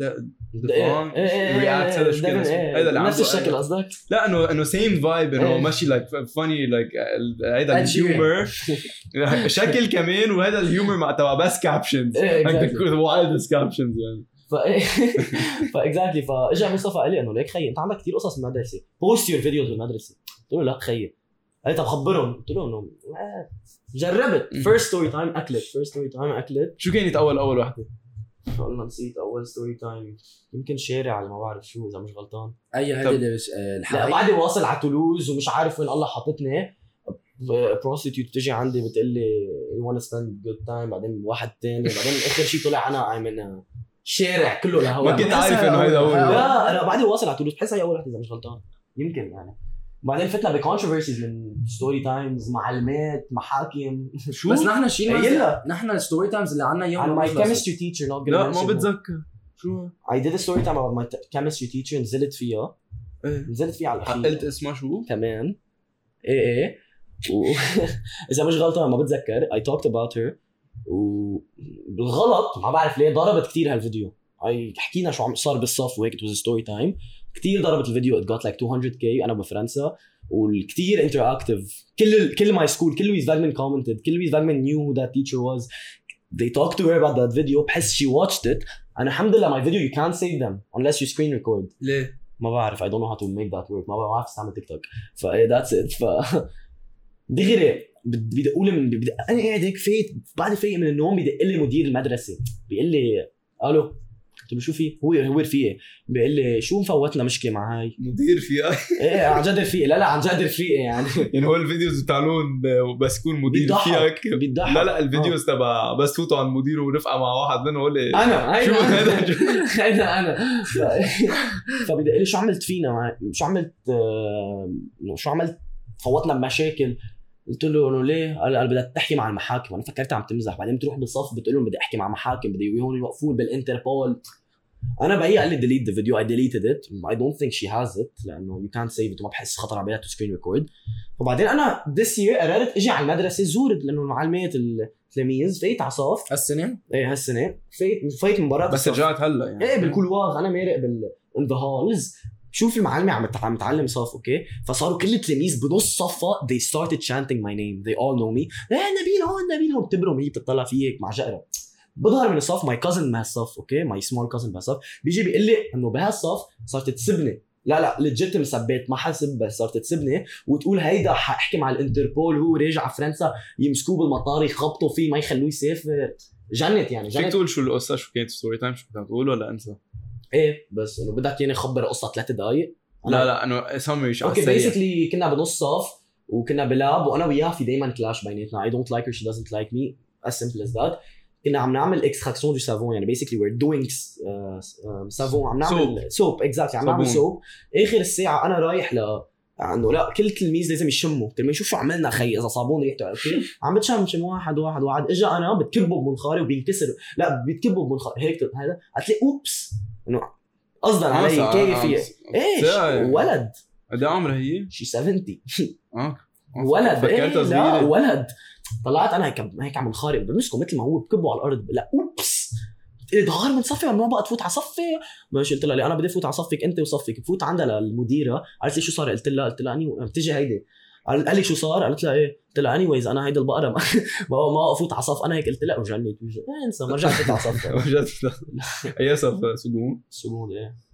رياكت هذا شو هذا نفس الشكل قصدك لا انه سيم فايب انه ماشي لايك فاني لايك هذا الهيومر شكل كمان وهذا الهيومر مع تبع بس كابشنز وايلدست كابشنز يعني فاكزاكتلي فاجا مصطفى قال لي انه ليك خيي انت عندك كثير قصص بالمدرسه بوست يور فيديوز بالمدرسه قلت له لا خيي قال لي طب خبرهم قلت له انه جربت فيرست ستوري تايم اكلت شو كانت اول وحده والله نسيت اول ستوري تايم يمكن شارع على ما بعرف شو اذا مش غلطان اي هذه اللي لا بعدي واصل على تولوز ومش عارف وين الله حاطتني بروستيتيوت بتجي عندي بتقول لي you want to spend good time بعدين واحد تاني بعدين اخر شيء طلع انا من شارع كله لهوا ما كنت عارف انه هيدا هو لا انا بعدي واصل على تولوز بحس هي اول وحده اذا مش غلطان يمكن يعني بعدين فتنا بكونتروفيرسيز من ستوري تايمز معلمات محاكم شو بس نحن شيء نحن الستوري تايمز اللي عنا يوم my chemistry teacher not لا ما بتذكر شو I did a story time about my chemistry teacher نزلت فيها على الأخير قلت اسمها شو كمان ايه اذا مش غلطان ما بتذكر I talked about her وبالغلط ما بعرف ليه ضربت كتير هالفيديو حكينا شو عم صار بالصف وهيك it was a story time كتير ضربت الفيديو it got like 200k انا بفرنسا والكتير interactive كل my school كل Louise Wegman commented كل Louise Wegman knew who that teacher was they talked to her about that video بحس she watched it أنا الحمد لله my video you can't save them unless you screen record ليه ما بعرف I don't know how to make that work ما بعرف استعمل تيك توك that's it دغري بدي اقول انا قاعد هيك بعد فايق من النوم بدق لي مدير المدرسه بيقول لي الو قلت له شو في هو رفيقي بيقول لي شو مفوتنا مشكله مع هاي مدير رفيقي ايه عن جد رفيقي لا عن جد رفيقي يعني هو الفيديوز بتاعون بس يكون مدير رفيقك لا الفيديوز تبع بس فوتوا عن المدير ورفقه مع واحد منهم يقول لي انا شو هذا انا فبدي لي شو عملت فينا شو عملت فوتنا بمشاكل قلت له انه ليه قال بدك تحكي مع المحاكم وانا فكرت عم تمزح بعدين بتروح بالصف بتقول لهم بدي احكي مع محاكم بدي يوقفوني يوقفون بالانتربول انا بقى قال لي delete the video I deleted it I don't think she has it لانه you can't save it وما بحس خطر على بالها to screen record فبعدين انا this year قررت اجي على المدرسه زورت لانه المعلمات التلاميذ فايت على صف هالسنه هالسنه فايت من برا بس رجعت هلا يعني ايه بالكولوار انا مارق in the halls شوف المعلمة عم تعلم صف اوكي فصاروا كل التلاميذ بنص صفة they started chanting my name they all know me نبيل هون بتبرم هي بتطلع فيك مع جقرة بظهر من الصف my cousin بهالصف اوكي my small cousin بهالصف بيجي بيقول لي انه بهالصف صارت تسبني لا legit مثبت ما حسب بس صارت تسبني وتقول هيدا حاحكي مع الانتربول هو راجع فرنسا يمسكوه بالمطار يخبطوا فيه ما يخلوه يسافر جنت يعني فيك تقول شو القصة شو كانت ستوري تايم شو كنت تقول ولا انسى ايه بس انه بدك يعني خبر قصه 3 دقائق لا انه سمري شو اوكي بيسكلي كنا بنص صف وكنا بلاب وانا وياها في دايما كلاش بيناتنا I don't like her she doesn't like me as simple as that كنا عم نعمل اكستراكسيون دو سافون يعني basically we're doing سافون عم نعمل سوب exactly عم نعمل سوب اخر الساعه انا رايح انه لا كل تلميذ لازم يشموا كل ما يشوف شو عملنا خي اذا صابون ريحته اوكي عم بتشم واحد اجى انا بتكبه بمنخاري وبينكسر لا بيتكبه بمنخاري هيك هذا قلت لي اوبس انه قصدا علي كيف ايش ولد قد عمرها هي شي 70 ولد فكرتها صغيره ولد طلعت انا هيك عم نخارق بمسكه مثل ما هو بكبه على الارض لا اوبس ظهر من صفي ممنوع بقى تفوت على صفي ماشي قلت لها انا بدي افوت على صفك انت وصفك بفوت عندها للمديره قالت لي شو صار قلت لها اني بتجي هيدي قال لي شو صار قالت لها ايه قلت لها اني ويز انا هيدي البقره ما افوت على صف انا هيك قلت لها وجنيت انسى ما رجعت على صف اي صف سجون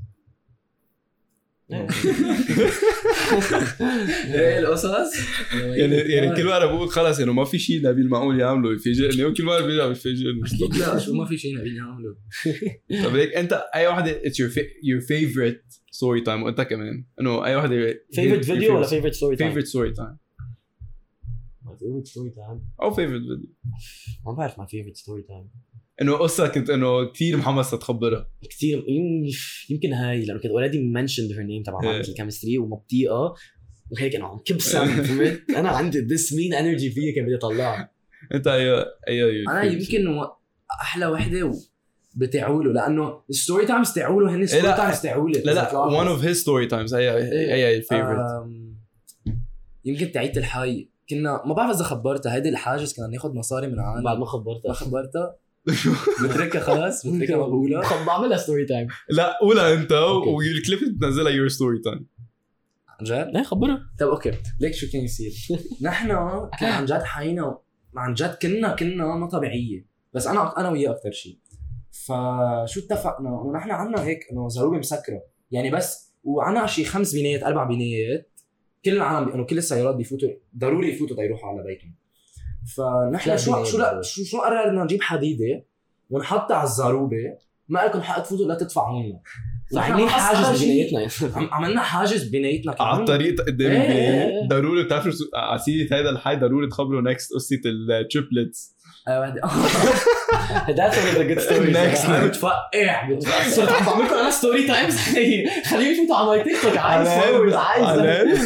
ايه القصص يعني كل مره بقول خلص انه ما في شيء نبيل معقول يعمله يفاجئني وكل مره بيرجع بيفاجئني لا شو ما في شيء نبيل يعمله طب هيك انت اي وحده it's your favorite story time وانت كمان انه اي وحده favorite video ولا favorite story time favorite story time my favorite story time او favorite video ما بعرف my favorite story time انه قصه كنت انه كثير محمس تتخبرها كثير يمكن هاي لانه كنت already mentioned her name تبع معلمة الكيمستري ومبطيئه وهيك انا عم كبسم انا عندي this mean energy فيها كان بدي اطلعها انت اي انا يمكن احلى وحده بتعوله لانه الستوري تايمز تعوله هن ستوري تايمز تعوله. لا one of his story times اي favorite. يمكن تعيت الحي كنا ما بعرف اذا خبرتها هيدي الحاجز كنا ناخذ مصاري من عالم بعد ما خبرتها بتركها خلاص بتركها ما بقولها بعملها ستوري تايم. لا قولها انت والكليب تنزلها your story time. عن جد؟ لا خبرها. طب اوكي ليك شو كان يصير. نحن كان عن جد حينا عن جد كنا ما طبيعيه بس انا وياه اكثر شيء. فشو اتفقنا انه نحن عنا هيك انه زروبه مسكره يعني بس وعنا شيء 5 بنايات 4 بنايات كل العالم انه كل السيارات بيفوتوا ضروري يفوتوا تيروحوا على بيتهم. فنحن شو قررنا نجيب حديده ونحطها على الزروبه ما لكم حق تفوتوا لا تدفعوا لنا. عاملين حاجز ببنايتنا عملنا حاجز ببنايتنا على الطريق قدام البنايه. ضروري بتعرفوا عسيره هذا الحي ضروري تخبروا نكست قصه التريبلتس. That's one of the good stories. Next بتفقع صرت عم بعمل لكم انا ستوري تايمز. خليني شوفوا على ماي تيك توك عايز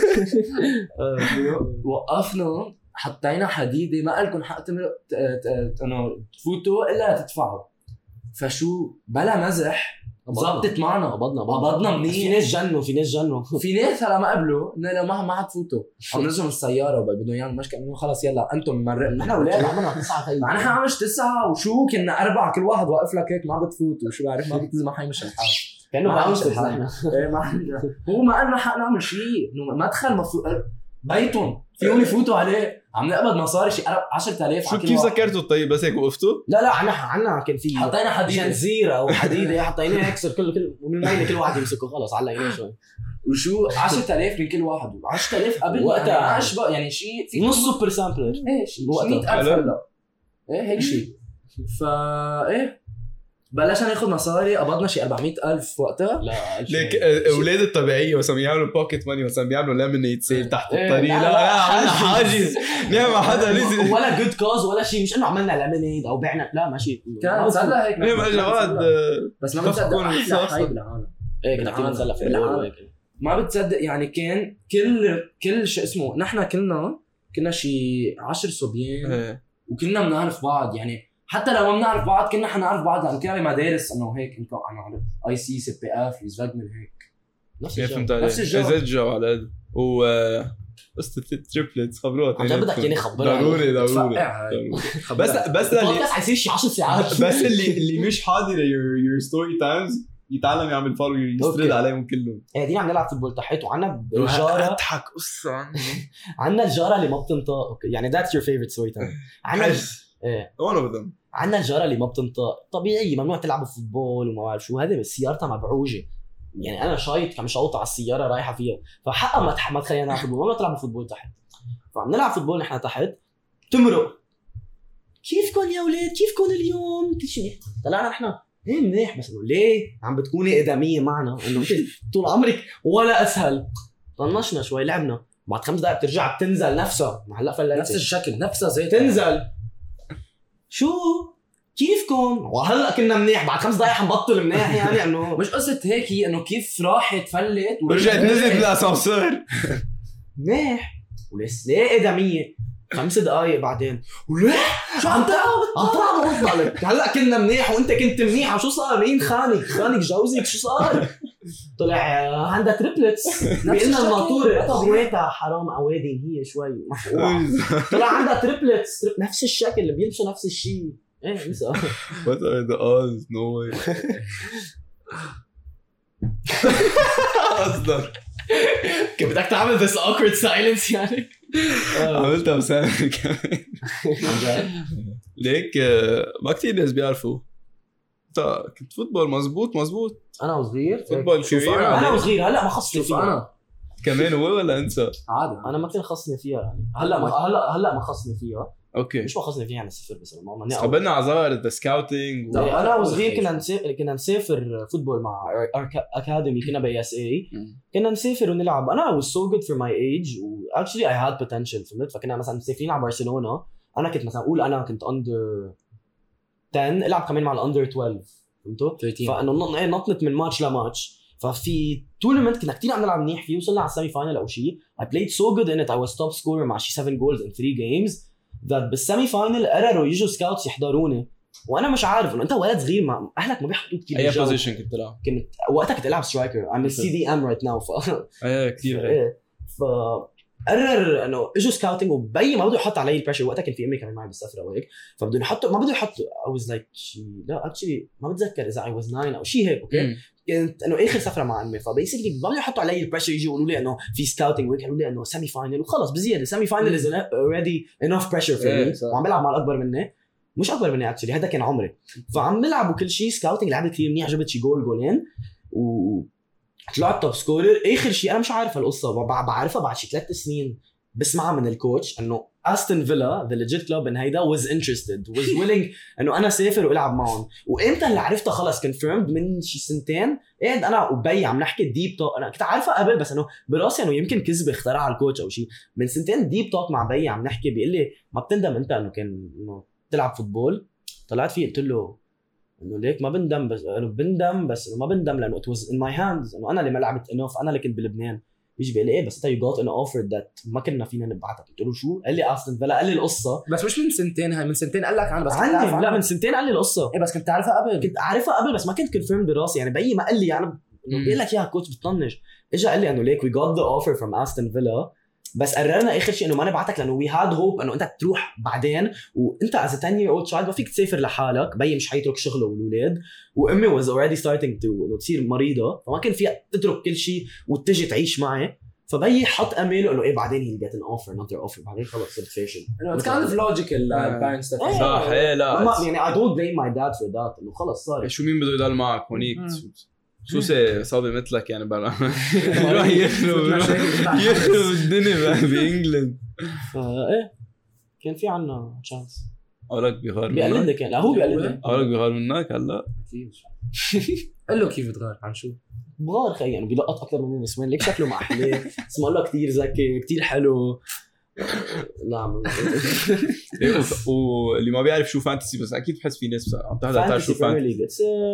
وقفنا حطينا حديده ما لكم حق انه تفوتوا الا تدفعوا. فشو بلا مزح زبطت معنا قبضنا منيح. في ناس جنوا في ناس هلا ما قبلوا انه ما حتفوتوا عم نزلوا من السياره وبدهم يعملوا مشكله انه خلص يلا انتم مرقنا. نحن اولاد عملنا 9 خيي نحن عملش 9 وشو كنا 4 كل واحد واقف لك هيك ما بتفوت وشو بعرف ما بتنزل ما حيمشي الحال كانه بعملش الحال. هو ما قلنا حق نعمل شيء انه مدخل مفروض بيتهم فيهم يفوتوا عليه عم نقبض مصاري شيء 10,000. شو كيف ذكرتوا طيب بس هيك وقفتوا؟ لا عنا كان في حطينا حديده جنزيره او حديده حطيناها يكسر كل ومن الميله كل واحد يمسكه خلص علقيناه شوي وشو 10,000 من كل واحد 10,000 قبل وقتها اشبه يعني شيء في نص سوبر سامبلر ايش 100,000 هلا هيك شيء. فا بلشنا ناخذ مصاري قبضنا شيء 400,000 وقتها. لا ليك اولاد الطبيعيه مثلا بيعملوا بوكيت ماني مثلا بيعملوا ليمونيد سيل تحت الطريق. لا حاجز نعم حدا لازم ولا جود كوز ولا شيء مش انه عملنا ليمونيد او بعنا لا ماشي كان نزلها هيك جواد بس ما بتصدق احلى حي بالعالم كنا كثير نزلها في الأول ما بتصدق يعني كان كل شيء اسمه نحن كنا شيء 10 صبيان وكنا بنعرف بعض يعني حتى لو ما بنعرف بعض كنا حنعرف بعض لأنه كنا بمدارس انه هيك انت انا اي سي سي بي اف ليزفاج من هيك نفس الجو على و قصة التريبلتس خبروها عشان بدك يعني خبرها ضروري بس البودكاست حيصير شي 10 ساعات بس اللي مش حاضر your story times يتعلم يعمل فولو يسترد عليهم كلهم. دي عم نلعب فوتبول تحت وعنا الجارة اضحك قصة عنا الجارة اللي ما بتنطق يعني that's your favorite story time. عنا one of them. عنا الجارة اللي ما بتنطق طبيعي ممنوع تلعب فوتبول وما بعرف شو هذا سيارتها مبعوجة يعني انا شايط كم شوطة على السيارة رايحة فيها فحقها ما تخلينا نلعب فوتبول ممنوع تلعب فوتبول تحت. فعم نلعب فوتبول نحن تحت تمرق كيفكن يا اولاد كيفكن اليوم طلعنا نحن منيح بس انه ليه عم بتكوني ادميه معنا انه انت طول عمرك ولا اسهل. طنشنا شوي لعبنا بعد 5 دقائق بترجع بتنزل نفسها هلا فلت نفس الشكل نفسها زي تنزل شو كيفكم وهلا كنا منيح بعد 5 دقائق حنبطل منيح يعني انه مش قصه هيك هي انه كيف راحت فلت ورجعت نزلت بالاسانسير منيح ولسه ادميه 5 دقائق بعدين وليه شو عم تعمل بطلك هلا كنا منيح وانت كنت منيح وشو صار مين خانك جوزك شو صار طلع عندها تريبلتس بيقلنا الماطوره طويتها حرام عوادي هي شوي مفقوعه طلع عندها تريبلتس نفس الشكل اللي بيلبسوا نفس الشيء نسا what are the odds no way اصدر كيف بدك تعمل this awkward silence يعني عملتها بسامر كمان ليك ما كتير ناس بيعرفوا انت كنت فوتبول مزبوط انا وصغير فوتبول كبير انا وصغير هلا ما خصني فيها انا كمان هو ولا انت عادي انا ما كان خصني فيها يعني هلا ما خصني فيها اوكي مش ما خصني فيها يعني صفر بس ما قبلنا عذار السكاوتينج انا وصغير كنا نسافر فوتبول مع اكاديمي كنا باي اس اي كنا نسافر ونلعب انا was so good for my age و actually I had potential فهمت فكنا مثلا مسافرين على برشلونه انا كنت مثلا اقول انا كنت under 10 العب كمان مع الاندر 12 فهمتوا فانه نطنت من ماتش لماتش ففي تورنمنت كنا كتير عم نلعب منيح فيه وصلنا على السيمي فاينل او شيء I played so good in it I was top scorer مع شي 7 goals in 3 games ذات بالسيمي فاينل قرروا يجوا سكاوتس يحضروني وانا مش عارف انه انت ولد صغير ما اهلك ما بيحطوك كثير اي بوزيشن كنت تلعب؟ كنت وقتها كنت العب سترايكر عم سي دي ام رايت ناو ايه كثير ايه قرر انه اجوا سكاوتنج وبي ما بده يحط علي البريشر. وقتها كان في امي كمان معي بالسفره وهيك فبده يحطوا ما بده يحطوا I was like لا اكشلي ما بتذكر اذا I was 9 او شيء هيك اوكي كنت انه اخر سفره مع امي فبيسكلي ما بده يحطوا علي البريشر يجوا يقولوا لي انه في سكاوتنج وهيك قالوا لي انه سيمي فاينل وخلص بزياده سيمي فاينل از اوريدي انف بريشر فور مي وعم بلعب مع الاكبر مني مش اكبر مني اكشلي هذا كان عمري فعم نلعب وكل شيء سكاوتنج لعبت كثير منيح جبت شي جولين وطلعت توب سكورر. اخر شيء انا مش عارف هالقصه بعرفها بعد شي 3 سنين بسمعها من الكوتش انه استون فيلا ذا ليجيت كلوب ان هيدا was interested was willing انه انا سافر والعب معهم. وامتى اللي عرفتها خلص كونفيرمد من شي 2 سنين قاعد انا وبي عم نحكي ديب توك. انا كنت عارفها قبل بس انه براسي انه يمكن كذبه اخترعها الكوتش او شيء. من 2 سنين ديب توك مع بي عم نحكي بيقول لي ما بتندم انت انه كان انه تلعب فوتبول؟ طلعت فيه قلت له انه ليك ما بندم بس انه بندم بس انه ما بندم لانه it was in my hands انه انا اللي ما لعبت انف انا اللي كنت بلبنان. يجي بيقول لي ايه بس انت you got an offer that ما كنا فينا نبعتك. قلت له شو؟ قال لي استون فيلا قال لي القصه بس مش من 2 سنين هاي من 2 سنين قال لك عنها بس لا من 2 سنين قال لي القصه. ايه بس كنت عارفها قبل كنت عارفها قبل بس ما كنت كونفيرم براسي يعني بيي ما قال لي يعني انه بيقول لك يا كوتش بتطنش. اجى قال لي انه ليك we got the offer from استون فيلا بس قررنا اخر شيء انه ما نبعتك لانه we had hope انه انت تروح بعدين وانت as a 10 year old child ما فيك تسافر لحالك. بيي مش حيترك شغله والولاد وامي was already starting to انه تصير مريضه فما كان فيها تترك كل شيء وتجي تعيش معي. فبيي حط امله انه ايه بعدين he'll get an offer another offer بعدين خلص صرت فاشل. it's kind of logical parents صح ايه لا يعني I don't blame my dad for that انه خلص صار شو مين بده يضل معك هونيك شو صابي مثلك يعني بلا يروح يخرب الدنيا بانجلند. ايه كان في عنا تشانس. اولك بيغار بيقلدني كان لا هو بيقلدني اولك بيغار منك هلا قال له كيف تغار عن شو بغار خي يعني بيلقط اكثر من النسوان ليك شكله مع احلام اسمه الله كتير ذكي كتير حلو. لا واللي ما بيعرف شو فانتسي بس اكيد بحس في ناس عم تحضر تعرف شو فانتسي.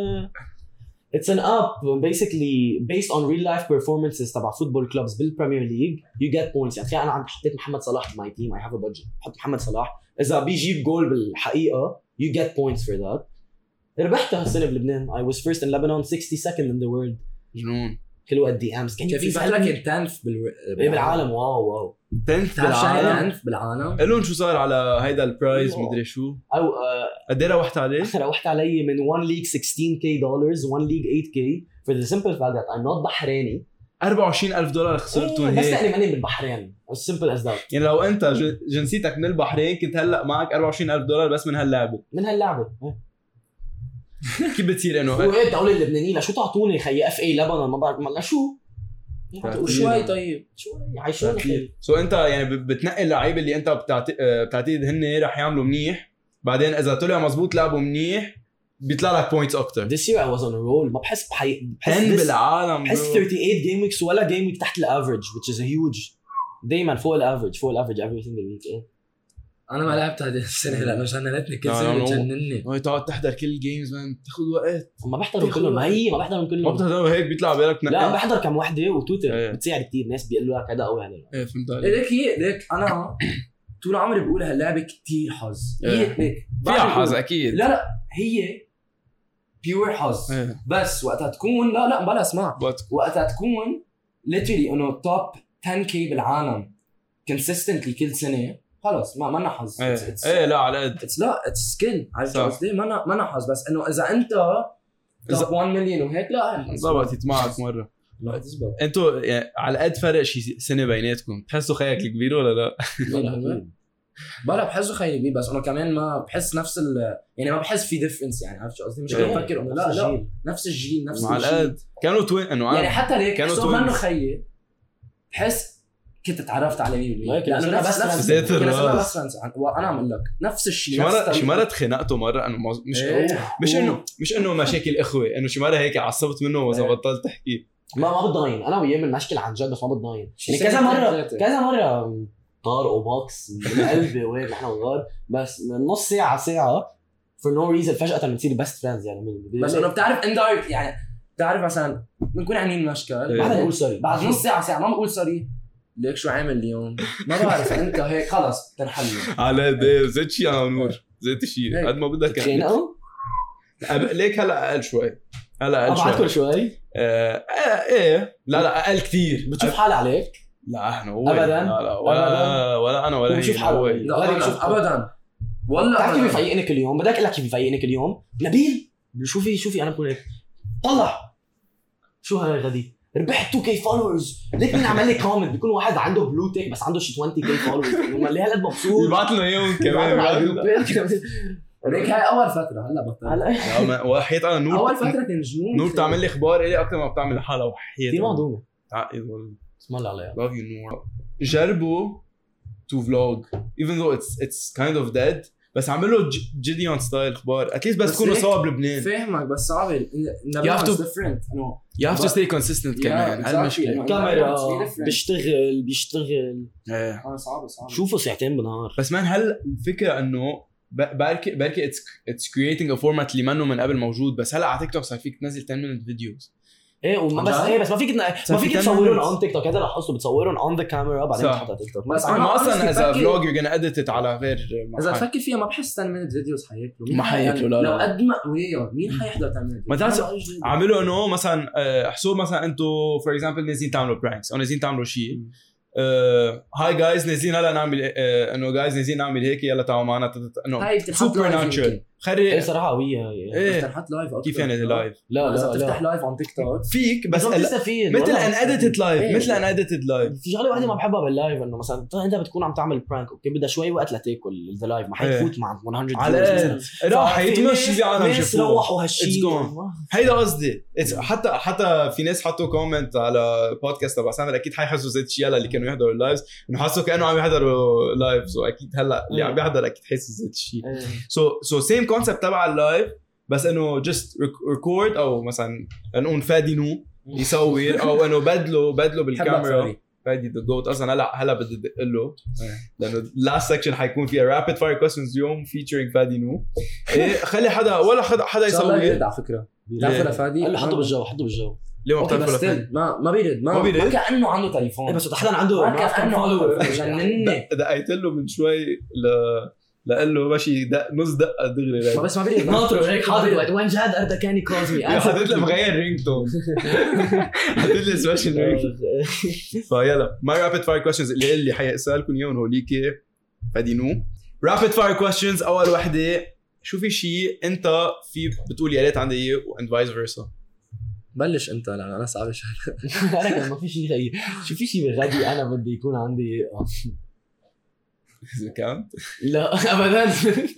It's an app basically based on real life performances تبع football clubs بالبريمير ليج. You get points يعني تخيل أنا حطيت محمد صلاح في my team I have a budget حط محمد صلاح إذا بيجيب جول بالحقيقة you get points for that. ربحتها هالسنة بلبنان I was first in Lebanon 62nd in the world. جنون كل وقت DMs كان في فترة كنت 10th بالعالم. واو 10th بالعالم قالون شو صار على هيدا البرايز مدري شو أو قد ايه روحت عليه؟ روحت علي من one league $16,000 one league $8,000 for the simple fact that I'm not بحريني. $24,000 خسرتوا هيك بس لاني ماني بالبحرين as simple as that. يعني لو انت جنسيتك من البحرين كنت هلا معك $24,000 بس من هاللعبه كيف بتصير انه وين الدوله اللبنانيه شو تعطوني خي اف اي لبنان ما بعرف ما شو شوي طيب شوي عايشون خير. سو انت يعني بتنقي اللعيبه اللي انت بتعتقد هن رح يعملوا منيح بعدين اذا طلع مزبوط لعبوا منيح بيطلع لك بوينتس اكتر. This year I was on a roll ما بحس 10 بالعالم بحس 38 game weeks ولا game week تحت الافريج which is a huge دايما فوق الافريج every single week. انا ما لعبت هذه السنه لانه جننتني كل سنه بتجنني هاي تقعد تحضر كل الجيمز مان بتاخذ وقت. ما بحضرهم كلهم ما بحضرهم كلهم ما بتحضرهم هيك بيطلع بالك لا بحضر كم وحده وتويتر بتساعد كتير ناس بيقولوا لك هذا قوي عليه. ايه فهمت عليك. ليك انا طول عمري بقول هاللعبه كتير حظ. هي ليك فيها حظ اكيد. لا هي بيور حظ بس وقتها تكون لا بلا اسمع وقتها تكون literally انه توب 10k بالعالم consistently كل سنه خلص ما لنا حظ. ايه لا على قد اتس سكيل عرفت قصدي ما لنا حظ بس انه اذا انت توب 1 مليون وهيك لا ضبطت معك مره. لا تزبط انتوا يعني على قد فرق شي سنه بيناتكم تحسوا خيك الكبير ولا لا؟ بلا بحسه خيالي كبير بس انا كمان ما بحس نفس يعني ما بحس في ديفرنس يعني عرفت قصدي مش بفكر انه لا نفس الجيل نفس على قد كانوا توين انه يعني حتى ليك كانوا منه خيي بحس كنت تعرفت على مين لانه نفس وانا عم اقول لك نفس الشيء. شي مره تخنقته مره انه مش انه مشاكل اخوه انه شي مره هيك عصبت منه واذا بطلت تحكي ما بتضاين انا وياه من مشكل عن جد بس ما بتضاين يعني كذا مره طار وبوكس من قلبي وين نحن صغار بس من نص ساعه for no reason فجاه بنصير بيست فريندز يعني بس انه بتعرف اندايركت يعني بتعرف مثلا بنكون عاملين مشكل بعد نقول سوري بعد نص ساعه ما بقول سوري ليك شو عامل اليوم ما بعرف انت هيك خلص تنحل على ده زيت شيء على نور زيت شيء قد ما بدك خينقوا ليك هلا اقل شوي هلا اقل ابعتكم شوي شوي ايه لا اقل كثير بتشوف حالي عليك لا احنا هو أبداً؟ لا ولا انا ولا هي بشوف حالي لا غادي شوف ابدا والله بتعرف كيف بيفيقني كل يوم بدك اقول لك كيف بيفيقني كل يوم نبيل شوفي انا بكون هيك طلع شو هاي غدي ربحت 2K فولورز ليك مين عمل لي كومنت بيكون واحد عنده بلو تيك بس عنده شي 20K فولورز انه ليه هالقد مبسوط يبعث له اياهم كمان هيك هاي اول فتره هلا بطل هلا وحيت انا نور اول فتره كان جنون نور بتعمل لي اخبار الي اكثر ما بتعمل لحالها وحيت كثير معدومه عقيد والله اسم الله عليها love you نور جربوا to vlog even though it's kind of dead بس عملوا جيديون ستايل اخبار اتليست بس تكونوا سوا بلبنان فاهمك بس صعب You have to- different you have to stay consistent كمان هالمشكله كاميرا بيشتغل ايه صعب شوفوا ساعتين بالنهار بس مان هل الفكره انه بركي it's creating a format اللي منه من قبل موجود بس هلا على تيك توك صار فيك تنزل 10 minute videos ايه بس ما فيك تصورون اون تيك توك هذا لاحظته بتصورون اون ذا كاميرا بعدين صح. بتحطها تيك توك بس انا اصلا اذا بفكر- vlog you're gonna edit it على غير اذا تفكر فيها ما بحس 10 minute فيديوز حياكلوا ما حياكلوا، لا، لا. لو قد ما وياه مين حيحضر 10 minute ما تعرف- فيديو؟ عملوا انه مثلا احسوا مثلا انتم فور اكزامبل نازلين تعملوا برانكس او نازلين تعملوا شيء هاي جايز نازلين هلا نعمل انه جايز نازلين نعمل هيك يلا تعالوا معنا انه هاي بتنحط سوبر لايف ناتشرال يمكن. ايه خلي صراحه قويه هي ايه بتنحط لايف أكتر. كيف يعني لايف لا اذا لا بتفتح لا لايف على تيك توك فيك بس ما بتستفيد مثل والله. ان اديتد لايف إيه. مثل ان اديتد لايف في شغله واحده ما بحبها باللايف انه مثلا انت بتكون عم تعمل برانك اوكي بدها شوي وقت لتاكل ذا لايف ما حيفوت مع 100 على الاقل راح يتمشي زي عالم ناس شافوه روحوا هالشيء It's gone. هيدا قصدي حتى في ناس حطوا كومنت على بودكاست تبع سامر اكيد حيحسوا زي الشيء اللي كانوا يحضروا اللايفز انه حسوا كانه عم يحضروا لايف سو اكيد هلا اللي عم بيحضر اكيد حاسس زي الشيء سو سيم كونسبت تبع اللايف بس انه جست ريكورد او مثلا نقول فادي نو يصور او انه بدله بالكاميرا فادي ذا جوت اصلا هلا بدي ادق له لانه اللاست سكشن حيكون فيها رابيد فاير كويستشنز اليوم فيتشرينج فادي نو إيه خلي حدا ولا حدا يصور على فكره لا فلا فادي قال له حطه بالجو ليه ما اوكي بتعرف بس ولا still ما بيرد ما بيرد؟ ما كانه عنده تليفون بس حدا عنده ما كانه فولور جنني دقيت له من شوي لقال له ماشي نص دقه دغري بس ما بيرد ناطره هيك حاضر وين جاد اردا كان يكوز مي حطيت له مغير رينج تون حطيت له سبيشال رينج فيلا ما رابيد فاير كويستشنز اللي حيسالكم اياهم هوليك فادينو رابيد فاير كويستشنز اول وحده شو في شيء انت في بتقول يا ريت عندي اياه واند فايس فيرسا بلش انت لان انا صعب شوي انا كمان ما في شيء غير شو في شيء بغدي انا بدي يكون عندي اذا كانت لا ابدا